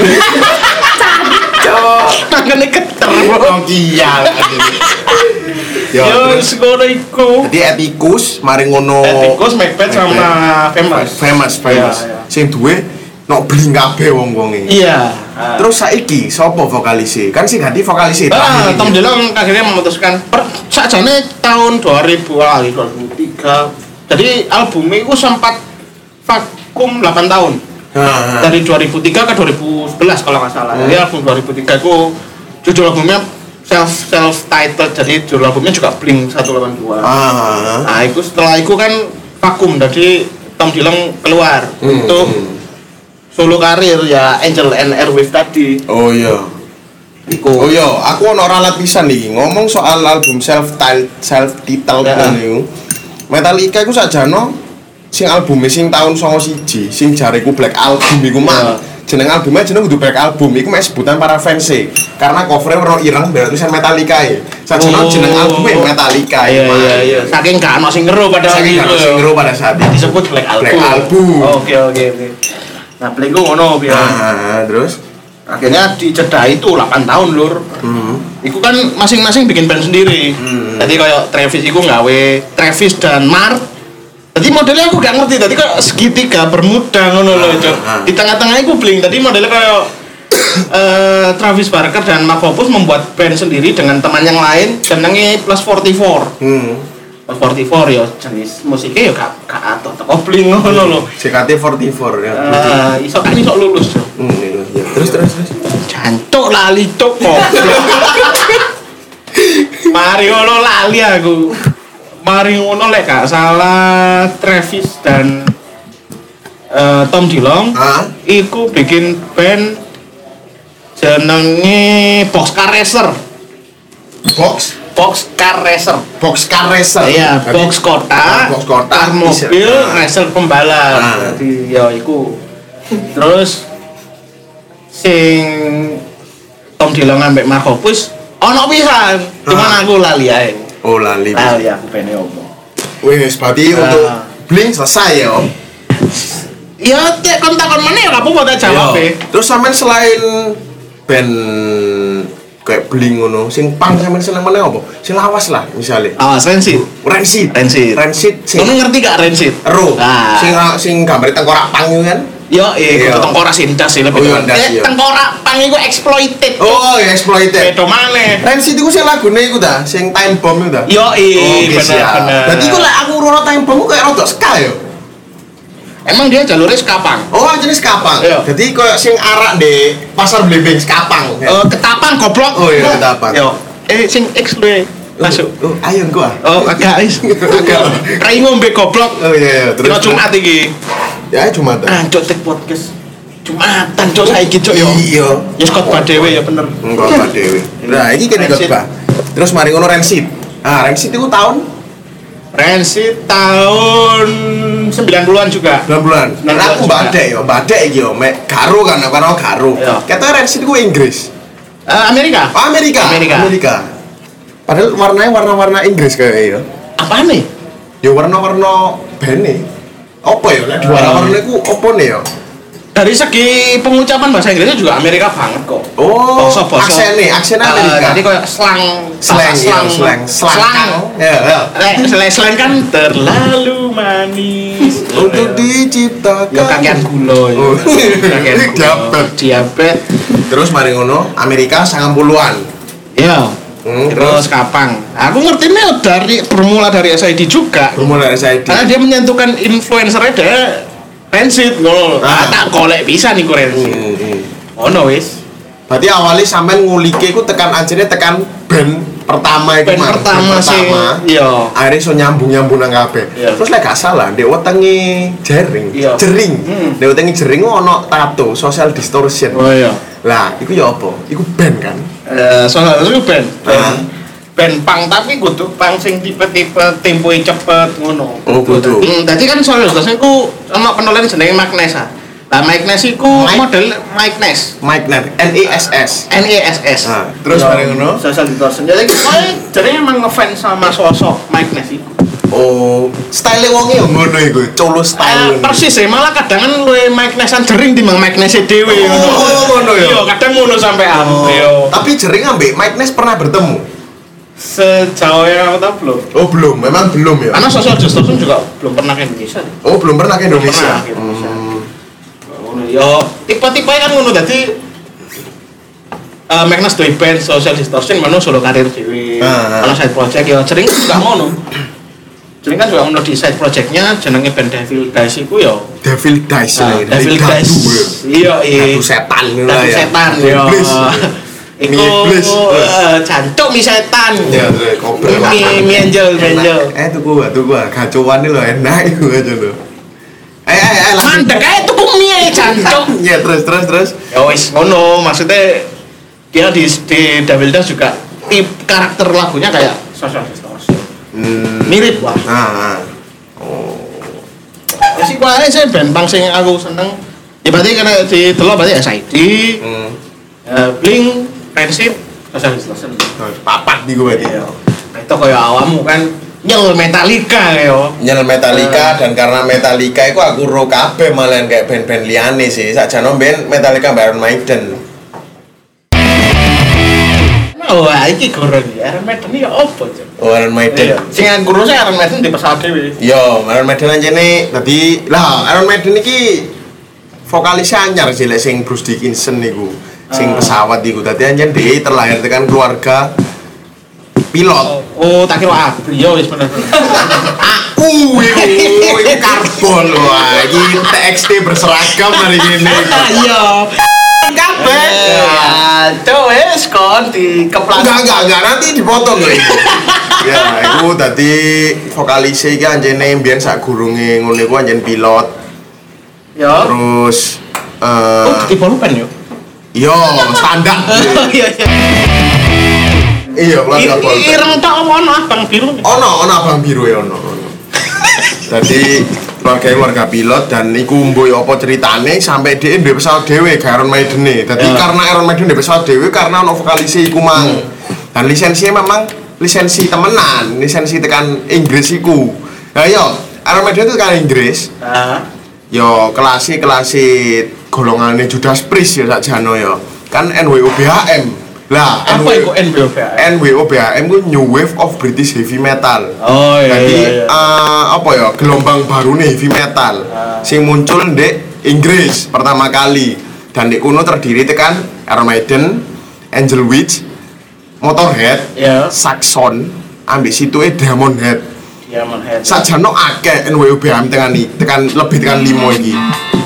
S2: Cuk.
S1: tangannya keter
S2: Nokia. Ya,
S1: yo
S2: terus
S1: sekolah iku
S2: jadi etikus mari ngono.
S1: Etikus, Macbeth sama Famous.
S2: Famous, famous.
S1: Iya, iya.
S2: Sing duwe nok bling kabeh wong-wonge.
S1: iya
S2: Terus saiki sapa vokalise? Kan sing ganti vokalise
S1: ah
S2: terakhir
S1: Tom
S2: iki.
S1: Dillon akhirnya memutuskan per sakjane tahun dua ribu ah dua ribu tiga jadi albumnya itu sempat vakum delapan tahun
S2: Heeh.
S1: dari dua ribu tiga ke dua ribu sebelas kalau nggak salah.
S2: Hmm.
S1: Jadi album dua ribu tiga itu judul albumnya self self titled, jadi judul albumnya juga Blink seratus delapan puluh dua.
S2: Ah.
S1: Nah itu setelah itu kan vakum, jadi Tom Dillon keluar
S2: Hmm,
S1: untuk
S2: hmm.
S1: solo karir ya Angel and Airwaves tadi.
S2: Oh iya.
S1: Iku.
S2: Oh iya, aku ono ralat pisan nih ngomong soal album self titled self titled
S1: Ya.
S2: niku. Metallica iku sajano sing albume sing tahun songo siji, sing jareku Black Album iku mah.
S1: Ya.
S2: Jeneng albumnya jeneng kudu Black Album, iku mek sebutan para fans e. Karena covernya warna ireng ben tulisan Metallica e. Sajano
S1: Oh.
S2: jeneng albumnya Metallica.
S1: Iya
S2: iku mah.
S1: iya iya. Saking gak ono sing ngeru pada
S2: Saking
S1: waktu
S2: gak
S1: itu.
S2: sing ngero pada saat itu.
S1: disebut Black Album.
S2: Black Album.
S1: Oke oke oke. Nah, Blink ku ngono piye.
S2: Ah, terus
S1: Akhirnya dicedai itu delapan tahun lur.
S2: hmm.
S1: Iku kan masing-masing bikin band sendiri.
S2: Hmm.
S1: Jadi kayak Travis iku nggawe Travis dan Mark. Jadi modelnya aku gak ngerti. Tadi kayak segitiga bermuda ngono loh,
S2: Ah,
S1: Cok.
S2: ah.
S1: Di tengah-tengah iku Blink. Tadi modelnya kayak eh, Travis Barker dan Mark Hoppus membuat band sendiri dengan teman yang lain, jenenge Plus empat puluh empat.
S2: Hmm.
S1: empat puluh empat ya jenis musiknya ya gak gak atok teko bling ngono lho.
S2: C K T empat puluh empat ya.
S1: Eh, iso kan iso lulus.
S2: Hmm, iya, iya. Terus terus terus.
S1: Jancuk lali cuk kok. Mari ngono lali aku. Mari ngono lek gak salah Travis dan uh, Tom DeLonge
S2: Ah,
S1: iku bikin band jenenge Boxcar Racer.
S2: box
S1: Boxcar Racer.
S2: Boxcar Racer.
S1: Iya,
S2: Jadi,
S1: box kota,
S2: ah, box kota,
S1: car mobil,
S2: ah.
S1: racer pembalap.
S2: Ah.
S1: Jadi ya iku. Terus sing Tom DeLonge ambek Mark Hoppus ono pisan, cuman
S2: Ah.
S1: aku lali ae.
S2: Oh lali.
S1: Lali aku pene opo.
S2: Wes berarti
S1: Ah.
S2: untuk Blink selesai ya Om.
S1: Ya cek kontak-kon mana ya kamu mau tak jawab
S2: Yo.
S1: e.
S2: Terus sampean selain band kayak Blink ngono, sing punk sampean seneng meneh apa? Sing lawas lah misalnya.
S1: Ah, Rancid.
S2: Rancid.
S1: Rancid.
S2: Rancid sing
S1: Kamu ngerti gak Rancid?
S2: ero.
S1: Ah.
S2: Sing sing gambar tengkorak pang itu kan.
S1: Yo, eh,
S2: Iya.
S1: kudu tengkorak sindas sih lebih.
S2: Oh, iya,
S1: tepat.
S2: ndas,
S1: Eh,
S2: iya.
S1: tengkorak pang iku exploited.
S2: Oh, ya exploited.
S1: Beda maneh.
S2: Rancid iku sing lagune iku ta, sing Time Bomb iku ta.
S1: Yo,
S2: Oke,
S1: bener
S2: siap.
S1: bener.
S2: Berarti iku lek aku rono Time Bomb ku kayak rada ska ya.
S1: Emang dia jalurnya skapang.
S2: Oh, jenis kapang.
S1: Iya.
S2: Jadi koyo sing arak di pasar Blimbing skapang.
S1: Eh, ketapang goblok.
S2: Oh iya, ketapang.
S1: Yo. Eh sing X lu masuk.
S2: Oh, ayo gua.
S1: Oh, agak is. Agak. Rai ngombe goblok.
S2: Oh iya, iya.
S1: Dino Jumat iki.
S2: Ya cuma ta.
S1: Anjuk tek podcast. Jumatan cuk saiki cuk yo.
S2: Iya.
S1: Ya khotbah dhewe ya bener.
S2: Enggak apa dewe. Nah, iki kene
S1: Rancid.
S2: khotbah. Terus mari ngono Rancid. Ah, Rancid itu tahun
S1: Rancid tahun sembilan puluhan juga.
S2: sembilan bulan.
S1: sembilan
S2: Nah, aku
S1: juga.
S2: badek yo, badek iki yo, mek Garo kan, aku kan Garo.
S1: Iya.
S2: Katanya Rancid ku Inggris.
S1: Eh, Amerika.
S2: Oh, Amerika.
S1: Amerika.
S2: Amerika. Padahal warnanya warna-warna Inggris kayak yo.
S1: Apa nih?
S2: Ya warna-warna bene. Apa ya? Nek
S1: Ah.
S2: warna-warna iku opo nih yo?
S1: Dari segi pengucapan bahasa Inggrisnya juga Amerika banget kok.
S2: Oh,
S1: Basa-basa.
S2: aksennya, aksen
S1: Eh,
S2: Amerika.
S1: jadi kayak slang,
S2: Slang,
S1: bahasa
S2: slang, slang,
S1: slang.
S2: slang. Ya, ya.
S1: Lek slang, slang kan terlalu manis
S2: Untuk diciptakan.
S1: ya kakean gula ya.
S2: Oh.
S1: Kakean gula.
S2: Diabet.
S1: Diabet.
S2: Terus mari ngono, Amerika sembilan puluhan.
S1: Ya.
S2: Hmm,
S1: Terus kapang. Aku ngertinya dari bermula dari S I D juga.
S2: Bermula dari saya di.
S1: Karena dia menyentuhkan influencernya dia Rancid ngono.
S2: Ah.
S1: Ah, tak golek bisa nih ku Rancid.
S2: Hmm, hmm.
S1: Ono wis.
S2: Berarti awalnya sampean ngulike iku tekan anjene tekan band pertama iku
S1: Band
S2: Mas.
S1: pertama sih. Iya.
S2: Akhirnya so nyambung-nyambung nang kabeh.
S1: Iya.
S2: Terus lek gak salah, ndek wetenge jering,
S1: Iya.
S2: jering.
S1: Hmm.
S2: Ndek wetenge jering ono tato, social distortion.
S1: Oh iya.
S2: Lah, iku ya apa? Iku band kan.
S1: Eh, soalnya itu band.
S2: Ah.
S1: Band pang tapi kudu pang sing tipe-tipe tempoe cepet ngono.
S2: Oh, kudu.
S1: Hmm, dadi kan soalnya terus iku ana penulis jenenge Magnes. ah. Lah Magnes iku
S2: Mike?
S1: model Magnes.
S2: Mike Net, N E S S.
S1: N E S S.
S2: Ah, terus mari ngono?
S1: Social distortion. Jadi kowe jadi emang ngefans sama sosok Magnes iku.
S2: Oh, style wonge yo ngono iku, colo
S1: Eh,
S2: style.
S1: persis ya, malah kadang kan luwe Magnesan jering timbang Magnese dhewe
S2: Oh, ngono ya?
S1: Iya, kadang ngono sampean.
S2: Oh,
S1: Iya.
S2: tapi jering ambek Mike Ness pernah bertemu?
S1: Sejauh yang aku tahu belum.
S2: Oh, belum, memang belum ya.
S1: Karena social distortion juga belum pernah ke Indonesia. nih.
S2: Oh, belum pernah ke Indonesia.
S1: Pernah ke Indonesia.
S2: Hmm.
S1: Ngono yo, tipe-tipe kan ngono dadi eh Magnus duwe band social distortion mana solo karir dhewe.
S2: Ah, ah.
S1: Kalau side project yo sering juga ngono. Sering kan juga ngono di side projectnya jenenge band Devil Dice iku yo.
S2: Devil Dice
S1: Nah,
S2: lagi.
S1: Devil Dice. Iya, iya.
S2: Gadu setan ngono
S1: Gadu
S2: ya.
S1: setan yo.
S2: Iblis.
S1: Iku
S2: Mie iblis.
S1: eh, jancuk mi setan.
S2: Ya, terus koper.
S1: Mi mi angel, mi angel.
S2: Eh, tuku gua, tuku gua. Gacoan lho enak iku aja lho. Eh, eh, eh, langsung.
S1: Mandek ae tuku mie jancuk.
S2: Ya, terus, terus, terus.
S1: Ya wis ngono, maksudnya dia di di Devil Dance juga tip karakter lagunya kayak social distortion.
S2: Hmm.
S1: Mirip lah.
S2: Ah, ah. Oh.
S1: Ya sih kuwi sih band punk sing aku seneng. Ya berarti karena di delok berarti S I D,
S2: Hmm.
S1: eh, Blink, Rancid, social distortion.
S2: Papat di gue
S1: Iya. Nah, itu kayak awakmu kan nyel Metallica yo.
S2: Nyel Metallica dan karena Metallica itu aku ro kabeh malahan kayak band-band liyane sih. Sakjane band Metallica Iron Maiden.
S1: Wah, iki gorong ya. Iron Maiden iki opo, Cuk?
S2: Oh, Iron Maiden.
S1: Iya. Sing aku sih Iron Maiden di pesawat dhewe.
S2: Yo, Iron Maiden anjene dadi lah Iron Maiden iki vokalisnya anyar sih lek sing Bruce Dickinson niku. Sing
S1: Ah.
S2: pesawat iku dadi anjen dhewe terlahir tekan keluarga pilot.
S1: Oh, tak kira aku. Ya wis bener.
S2: Aku iku iku karbon wah iki T X T berseragam hari ini.
S1: Iya.
S2: Kabeh.
S1: Ya, tuh wis kon di keplas.
S2: Enggak enggak enggak nanti dipotong lho itu. Ya, iku dadi vokalis iki anjene mbiyen sak gurunge ngono iku anjen pilot.
S1: Ya.
S2: Terus eh
S1: Oh, di pulpen yo.
S2: yo standar.
S1: Iya iya.
S2: Iya, kelas pulpen.
S1: Ireng tok apa ono abang biru?
S2: Ono ono abang biru ya ono. ono. Dadi keluarga keluarga pilot dan iku mboy apa ceritane sampai dia duwe pesawat dhewe gak Iron Maiden. Dadi
S1: Ya.
S2: karena Iron Maiden duwe pesawat dhewe karena ono vokalis iku mang. Dan lisensinya memang lisensi temenan, lisensi tekan Inggris iku. Lah yo, Iron Maiden itu tekan Inggris.
S1: Heeh.
S2: Yo kelas kelas golongane Judas Priest ya sakjane yo. Kan N W O B H M. Lah,
S1: Apa iku N W O B H M?
S2: N W O B H M ku New Wave of British Heavy Metal.
S1: Oh iya
S2: Jadi
S1: iya. iya.
S2: eh, apa ya gelombang baru nih heavy metal sing muncul di Inggris pertama kali dan di kuno terdiri tekan Iron Maiden, Angel Witch, Motorhead,
S1: Iya.
S2: Saxon, ambek situe Diamond Head.
S1: Ya Motorhead.
S2: Sajane akeh N W O B H M tekan iki, tekan lebih tekan lima iki.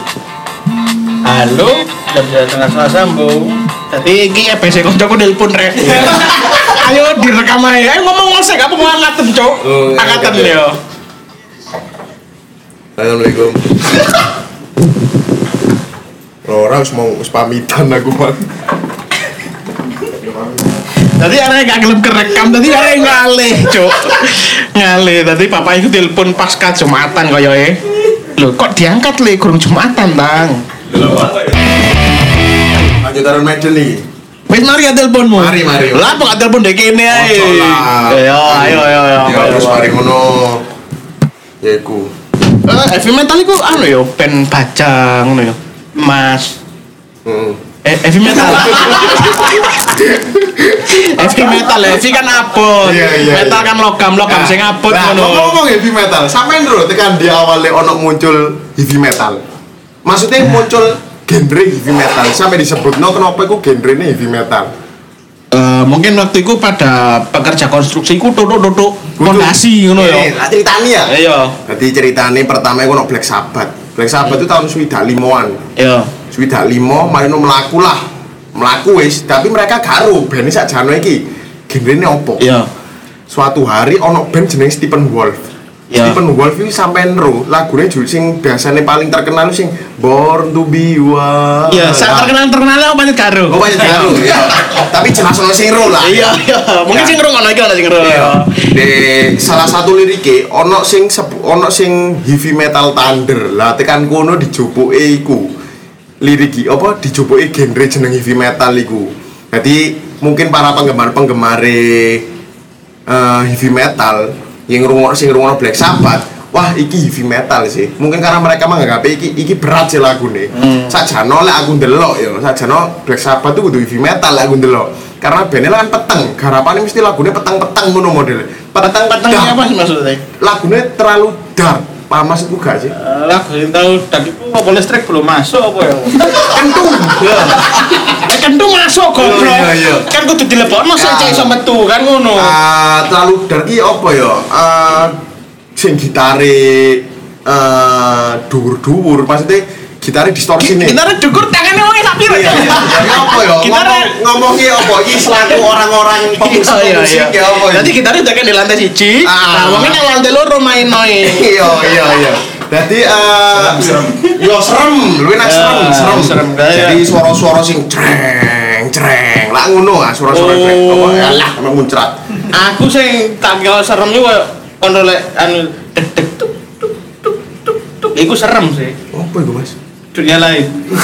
S1: Halo, jam setengah salah sambung. Jadi iki E P C koncoku nelpon rek. Ayo direkam aja. Ayo ngomong ngosek apa mau angkaten, Cuk?
S2: Oh,
S1: Angkaten
S2: angkat ya.
S1: yo.
S2: Assalamualaikum. Ora wis mau wis pamitan aku, Bang.
S1: Tadi arek gak gelem kerekam, tadi arek ngalih, Cuk. Ngalih. Tadi papa iku telepon pasca Jumatan koyoke. Lho, kok diangkat le kurang Jumatan, Bang?
S2: Lanjut Iron Maiden nih.
S1: Wis mari ya teleponmu.
S2: Mari, mari.
S1: Lah kok gak telepon dek kene ae.
S2: Ojo lah.
S1: Ayo, ayo, ayo, ayo.
S2: Ya terus mari ngono. Ya iku.
S1: Eh, heavy metal iku anu yo, band baja ngono yo. Mas.
S2: Heeh.
S1: Eh, heavy metal. Heavy metal, heavy kan abot.
S2: Iya, iya,
S1: Metal
S2: iya.
S1: kan logam, logam sing abot
S2: Nah,
S1: ngono.
S2: ngomong heavy metal, sampean lho tekan di awalnya ono muncul heavy metal. Maksudnya muncul genre heavy metal sampai disebutno kenapa iku genrene heavy metal.
S1: Eh, mungkin waktu itu pada pekerja konstruksi ku tutuk-tutuk fondasi ngono
S2: Eh,
S1: ya.
S2: lah ceritane ya.
S1: Iya.
S2: Jadi ceritane pertama iku ono Black Sabbath. Black Sabbath itu tahun swidak limoan.
S1: Iya.
S2: Swidak limo mari no mlaku lah. Mlaku wis, tapi mereka karo band sakjane iki. Genrene opo?
S1: Iya.
S2: Suatu hari ono band jeneng Stephen Wolf.
S1: Ya.
S2: Stephen Wolf itu sampean ro, lagune judul sing biasanya paling terkenal sing Born to be Wild.
S1: Iya, sak terkenal-terkenal apa banyak karo.
S2: Oh banyak karo ya. Tapi jelas ono sing ro lah.
S1: Iya, iya. Mungkin
S2: Ya.
S1: sing ngrungokno iki ana sing ngrungokno.
S2: Iya. Di salah satu lirike ono sing sebu- ono sing heavy metal thunder. Lah tekan kono dijopoke iku. Liriki apa dijopoke genre jeneng heavy metal iku. Jadi mungkin para penggemar-penggemare eh, heavy metal yang ngrungokno sing ngrungokno Black Sabbath, wah iki heavy metal sih. Mungkin karena mereka menganggap iki iki berat sih lagune.
S1: Hmm.
S2: Sakjane lek aku ndelok ya, sakjane Black Sabbath itu kudu heavy metal lek aku ndelok. Karena bandnya kan peteng, garapane mesti lagune peteng-peteng ngono model.
S1: Petang-petang
S2: dark.
S1: apa sih maksudnya?
S2: Lagune terlalu dark. Paham maksudku gak sih?
S1: Lah, yang tahu tadi ku apa listrik belum masuk apa ya?
S2: Kentung.
S1: Ya. Eh, kentung masuk goblok.
S2: Iya, iya.
S1: Kan kudu dilebokno sik
S2: Ya.
S1: cek iso metu kan ngono.
S2: Ah, terlalu dark iki apa ya? Ah, sing gitare eh dhuwur-dhuwur, maksudnya gitare distorsi nih.
S1: Kita dukur tangannya wong sak piro
S2: Iya,
S1: ya?
S2: iya. Jadi apa ya?
S1: Gitare-
S2: Ngomong ngomongnya apa? Iki selaku orang-orang pemusik-pemusik ya apa? ya?
S1: Jadi kita udah kan di lantai siji.
S2: Ah.
S1: Nah, mungkin yang lantai loro main-main.
S2: Iya, iya, iya. Jadi eh yo serem, luwih nak serem,
S1: Ya,
S2: serem.
S1: serem, ya.
S2: Jadi suara-suara sing creng, creng. Lah ngono ah suara-suara
S1: Oh.
S2: creng. Apa ya lah emang muncrat.
S1: Aku sing tak kira serem iku koyo kondo lek anu deg deg tuk tuk tuk tuk tuk. Iku serem sih.
S2: Apa iku, Mas?
S1: Dunia lain.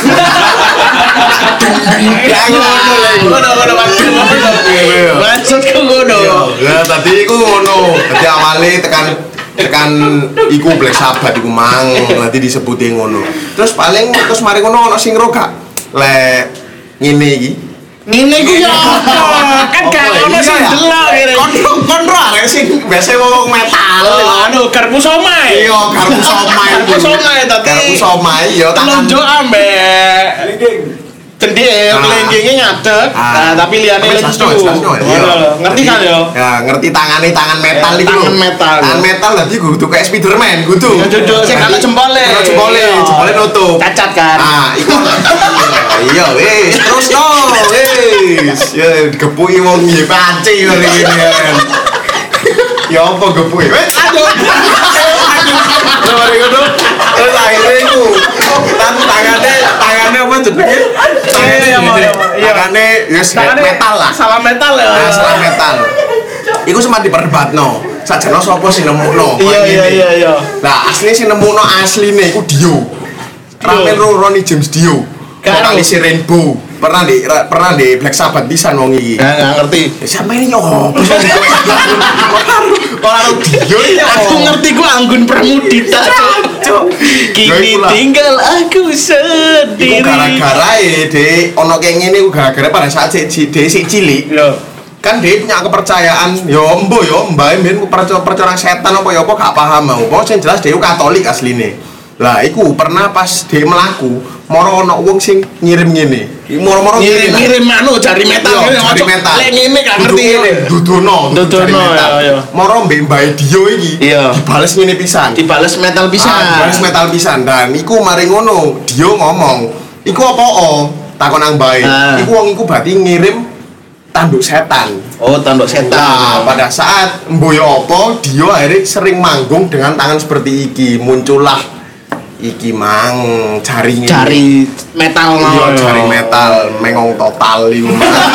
S2: Ya ngono lah iku.
S1: Ngono ngono maksud
S2: Iya.
S1: maksudku ngono.
S2: Ya tadi iku ngono. Dadi awale tekan tekan iku Black Sabbath iku mang nanti disebutin ngono. Terus paling terus mari ngono ono sing ro gak lek ngene iki.
S1: Ngene iku ya apa? Kan gak
S2: Apa,
S1: ono
S2: iya
S1: sing
S2: ya?
S1: delok kene.
S2: Kon kon ro arek sing biasa ngomong metal.
S1: Anu garpu somai.
S2: Iya, garpu somai.
S1: Garpu somai tadi.
S2: Garpu somai ya tangan.
S1: Telunjuk ambek Gendhe
S2: Ah.
S1: kelingkinge ngadeg.
S2: Ah.
S1: Nah, tapi liyane
S2: Tapi
S1: lucu.
S2: slasno, slasno, ya.
S1: Ngono lho. Ngerti kan yo?
S2: Ya, ngerti tangane tangan metal
S1: Eh,
S2: iku.
S1: tangan metal.
S2: Tangan metal dadi kudu kayak Spiderman kudu.
S1: Ya duduk sing ana jempole.
S2: Ana jempole,
S1: Iya.
S2: jempole nutup.
S1: Cacat kan.
S2: Ah, iku. Iya, wis, terus no, wis. Ya digepuki wong piye panci ngene iki kan. Ya apa gepuki? Wis, aduh. Lha mari ngono. Terus akhirnya iku tan tangane tangane apa jenenge? Tangane
S1: Iya,
S2: gini.
S1: iya.
S2: Tangane wis metal lah.
S1: Salah metal ya.
S2: Ah, salah metal. Iku sempat diperdebatno. Sajane sapa sing nemukno?
S1: Iya iya iya iya.
S2: Lah asline sing nemukno asline iku Dio. Ramen Ronnie James Dio.
S1: Karo.
S2: Vokalis Rainbow. Pernah di ra- pernah di Black Sabbath pisan wong iki.
S1: Enggak enggak ngerti.
S2: Ya sampe ini yo. Ora Dio ya.
S1: Aku ngerti ku Anggun Pramudita, Cuk. Kini tinggal aku
S2: Iku
S1: sendiri.
S2: gara-gara e Dek ono kayak ngene iku gara-gara pada saat si Dek sik cilik.
S1: Yo.
S2: Kan dia punya kepercayaan yo mbo yo mbak mbien percaya percaya setan apa ya apa gak paham mau pokoknya yang jelas dia Katolik asline lah iku pernah pas dia melaku moro ono wong sing ngirim ngene moro-moro
S1: Ngirim
S2: ngirim
S1: ngirim anu jari metal
S2: Iya,
S1: ngene,
S2: jari
S1: Cuk.
S2: metal.
S1: Lek ngene gak ngerti ngene.
S2: dudono
S1: Dudono,
S2: jari metal.
S1: iya, iya.
S2: Moro mbek mbae Dio iki
S1: Iya.
S2: dibales ngene pisan
S1: Dibales metal pisan.
S2: Ah, dibales metal pisan dan iku mari ngono Dio ngomong iku apa takon nang mbae
S1: Ah.
S2: iku wong iku berarti ngirim tanduk setan.
S1: Oh, tanduk
S2: Nah,
S1: setan.
S2: pada saat mboyo apa Dio akhirnya sering manggung dengan tangan seperti iki muncullah iki mang jaring ini.
S1: Jari metal
S2: Iya,
S1: mau.
S2: jari metal mengong total iku.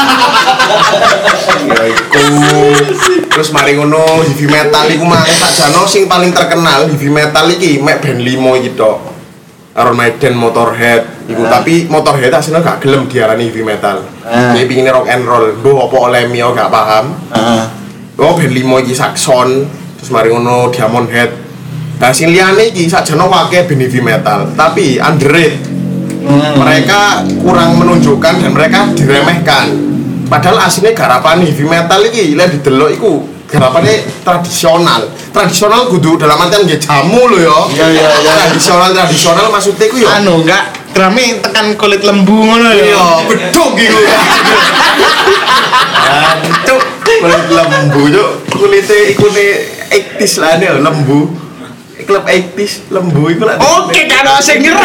S2: Ya iku. Terus mari ngono heavy metal iku mang sakjane sing paling terkenal heavy metal iki mek band limo iki tok. Iron Maiden, Motorhead, iku
S1: Ah.
S2: tapi Motorhead aslinya gak gelem diarani heavy metal.
S1: Ah.
S2: Dia pinginnya rock and roll, mbok apa oleh mio gak paham.
S1: Heeh.
S2: Oh band limo iki Saxon, terus mari ngono Diamond Head. Nah sing liyane iki sakjane akeh band heavy metal, tapi underrated.
S1: Hmm.
S2: Mereka kurang menunjukkan dan mereka diremehkan. Padahal aslinya garapan heavy metal iki lek didelok iku garapane tradisional. Tradisional kudu dalam artian nggih jamu lho ya.
S1: Iya, iya, iya.
S2: Tradisional tradisional maksudnya iku ya.
S1: Anu enggak krami tekan kulit lembu ngono ya.
S2: Iya, beduk gitu. Ancuk, kulit lembu cuk. Kulite ikune eighties lah nih lembu. Klub eighties lembu iku lak.
S1: Oke, karo sing ngero.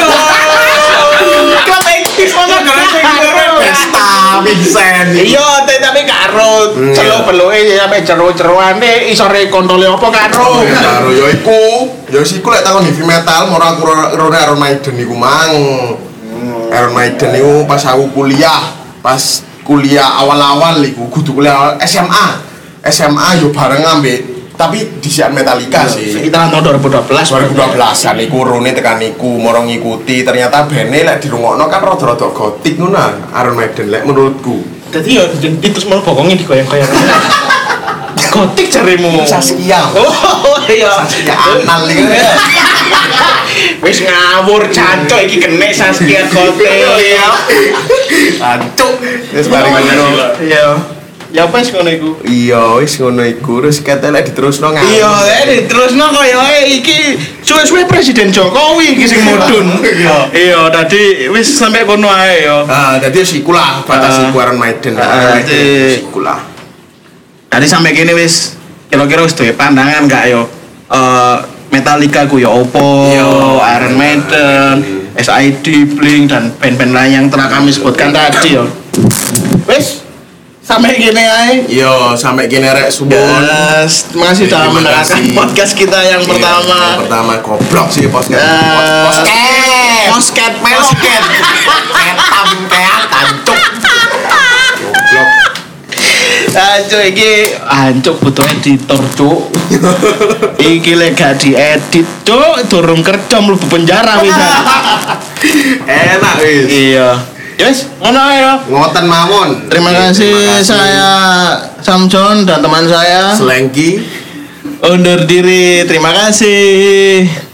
S1: Klub eighties mana karo sing ngero.
S2: Pesta Vincent.
S1: Iya, te- tapi karo
S2: Hmm,
S1: celuk-beluke sampe jero-jeroane isore kontole apa karo.
S2: Karo ya iku, ya wis iku lek takon heavy metal moro aku rone Iron Maiden iku mang. Iron Maiden iku pas aku kuliah, pas kuliah awal-awal iku kudu kuliah S M A. S M A yo bareng ambek tapi disian Metallica sih.
S1: Sekitaran tahun dua ribu dua belas.
S2: dua ribu dua belasan iku rone tekan iku moro ngikuti ternyata bene lek dirungokno kan rada-rada gotik ngono Iron Maiden lek menurutku.
S1: Dadi ya di terus mau bokongnya digoyang-goyang. Gotik jarimu.
S2: Saskia.
S1: Oh iya.
S2: Saskia anal iki.
S1: Wis ngawur cancuk iki kene Saskia gotik.
S2: Iya. Ancuk. Wis mari ngono.
S1: Iya. Ya apa sih ngono iku?
S2: Iya, wis ngono iku terus kate lek diterusno ngawur.
S1: Iya, eh terusno koyo iki suwe-suwe Presiden Jokowi iki sing mudhun.
S2: Iya.
S1: Iya, tadi wis sampe kono ae ya.
S2: Ah, dadi wis iku lah batas
S1: Ah.
S2: iku Iron Maiden.
S1: Ah,
S2: Iron Maiden
S1: jadi-
S2: wis iku lah.
S1: Tadi sampe kene wis kira-kira wis duwe pandangan gak yo? Eh Metallica ku ya opo,
S2: Iya.
S1: Iron Maiden, S I D, Blink dan band-band lain yang telah kami sebutkan tadi yo. Wis sampai gini aja.
S2: Yo, sampai kene rek suwun.
S1: Yes, terima kasih sudah
S2: Terima
S1: mendengarkan
S2: kasih.
S1: podcast kita yang
S2: Iya,
S1: pertama.
S2: yang pertama goblok sih podcast.
S1: Eh,
S2: Podcast.
S1: Posket,
S2: Meloket. Ketam kean tancuk. Goblok.
S1: Ancuk iki ancuk butuh editor, Cuk. Iki lek gak diedit, Cuk, durung kerja mlebu penjara bisa.
S2: Enak wis.
S1: Iya. Yes, ngono ae ya.
S2: Ngoten mawon.
S1: Terima kasih, saya Samson dan teman saya
S2: Selengki.
S1: undur diri. Terima kasih.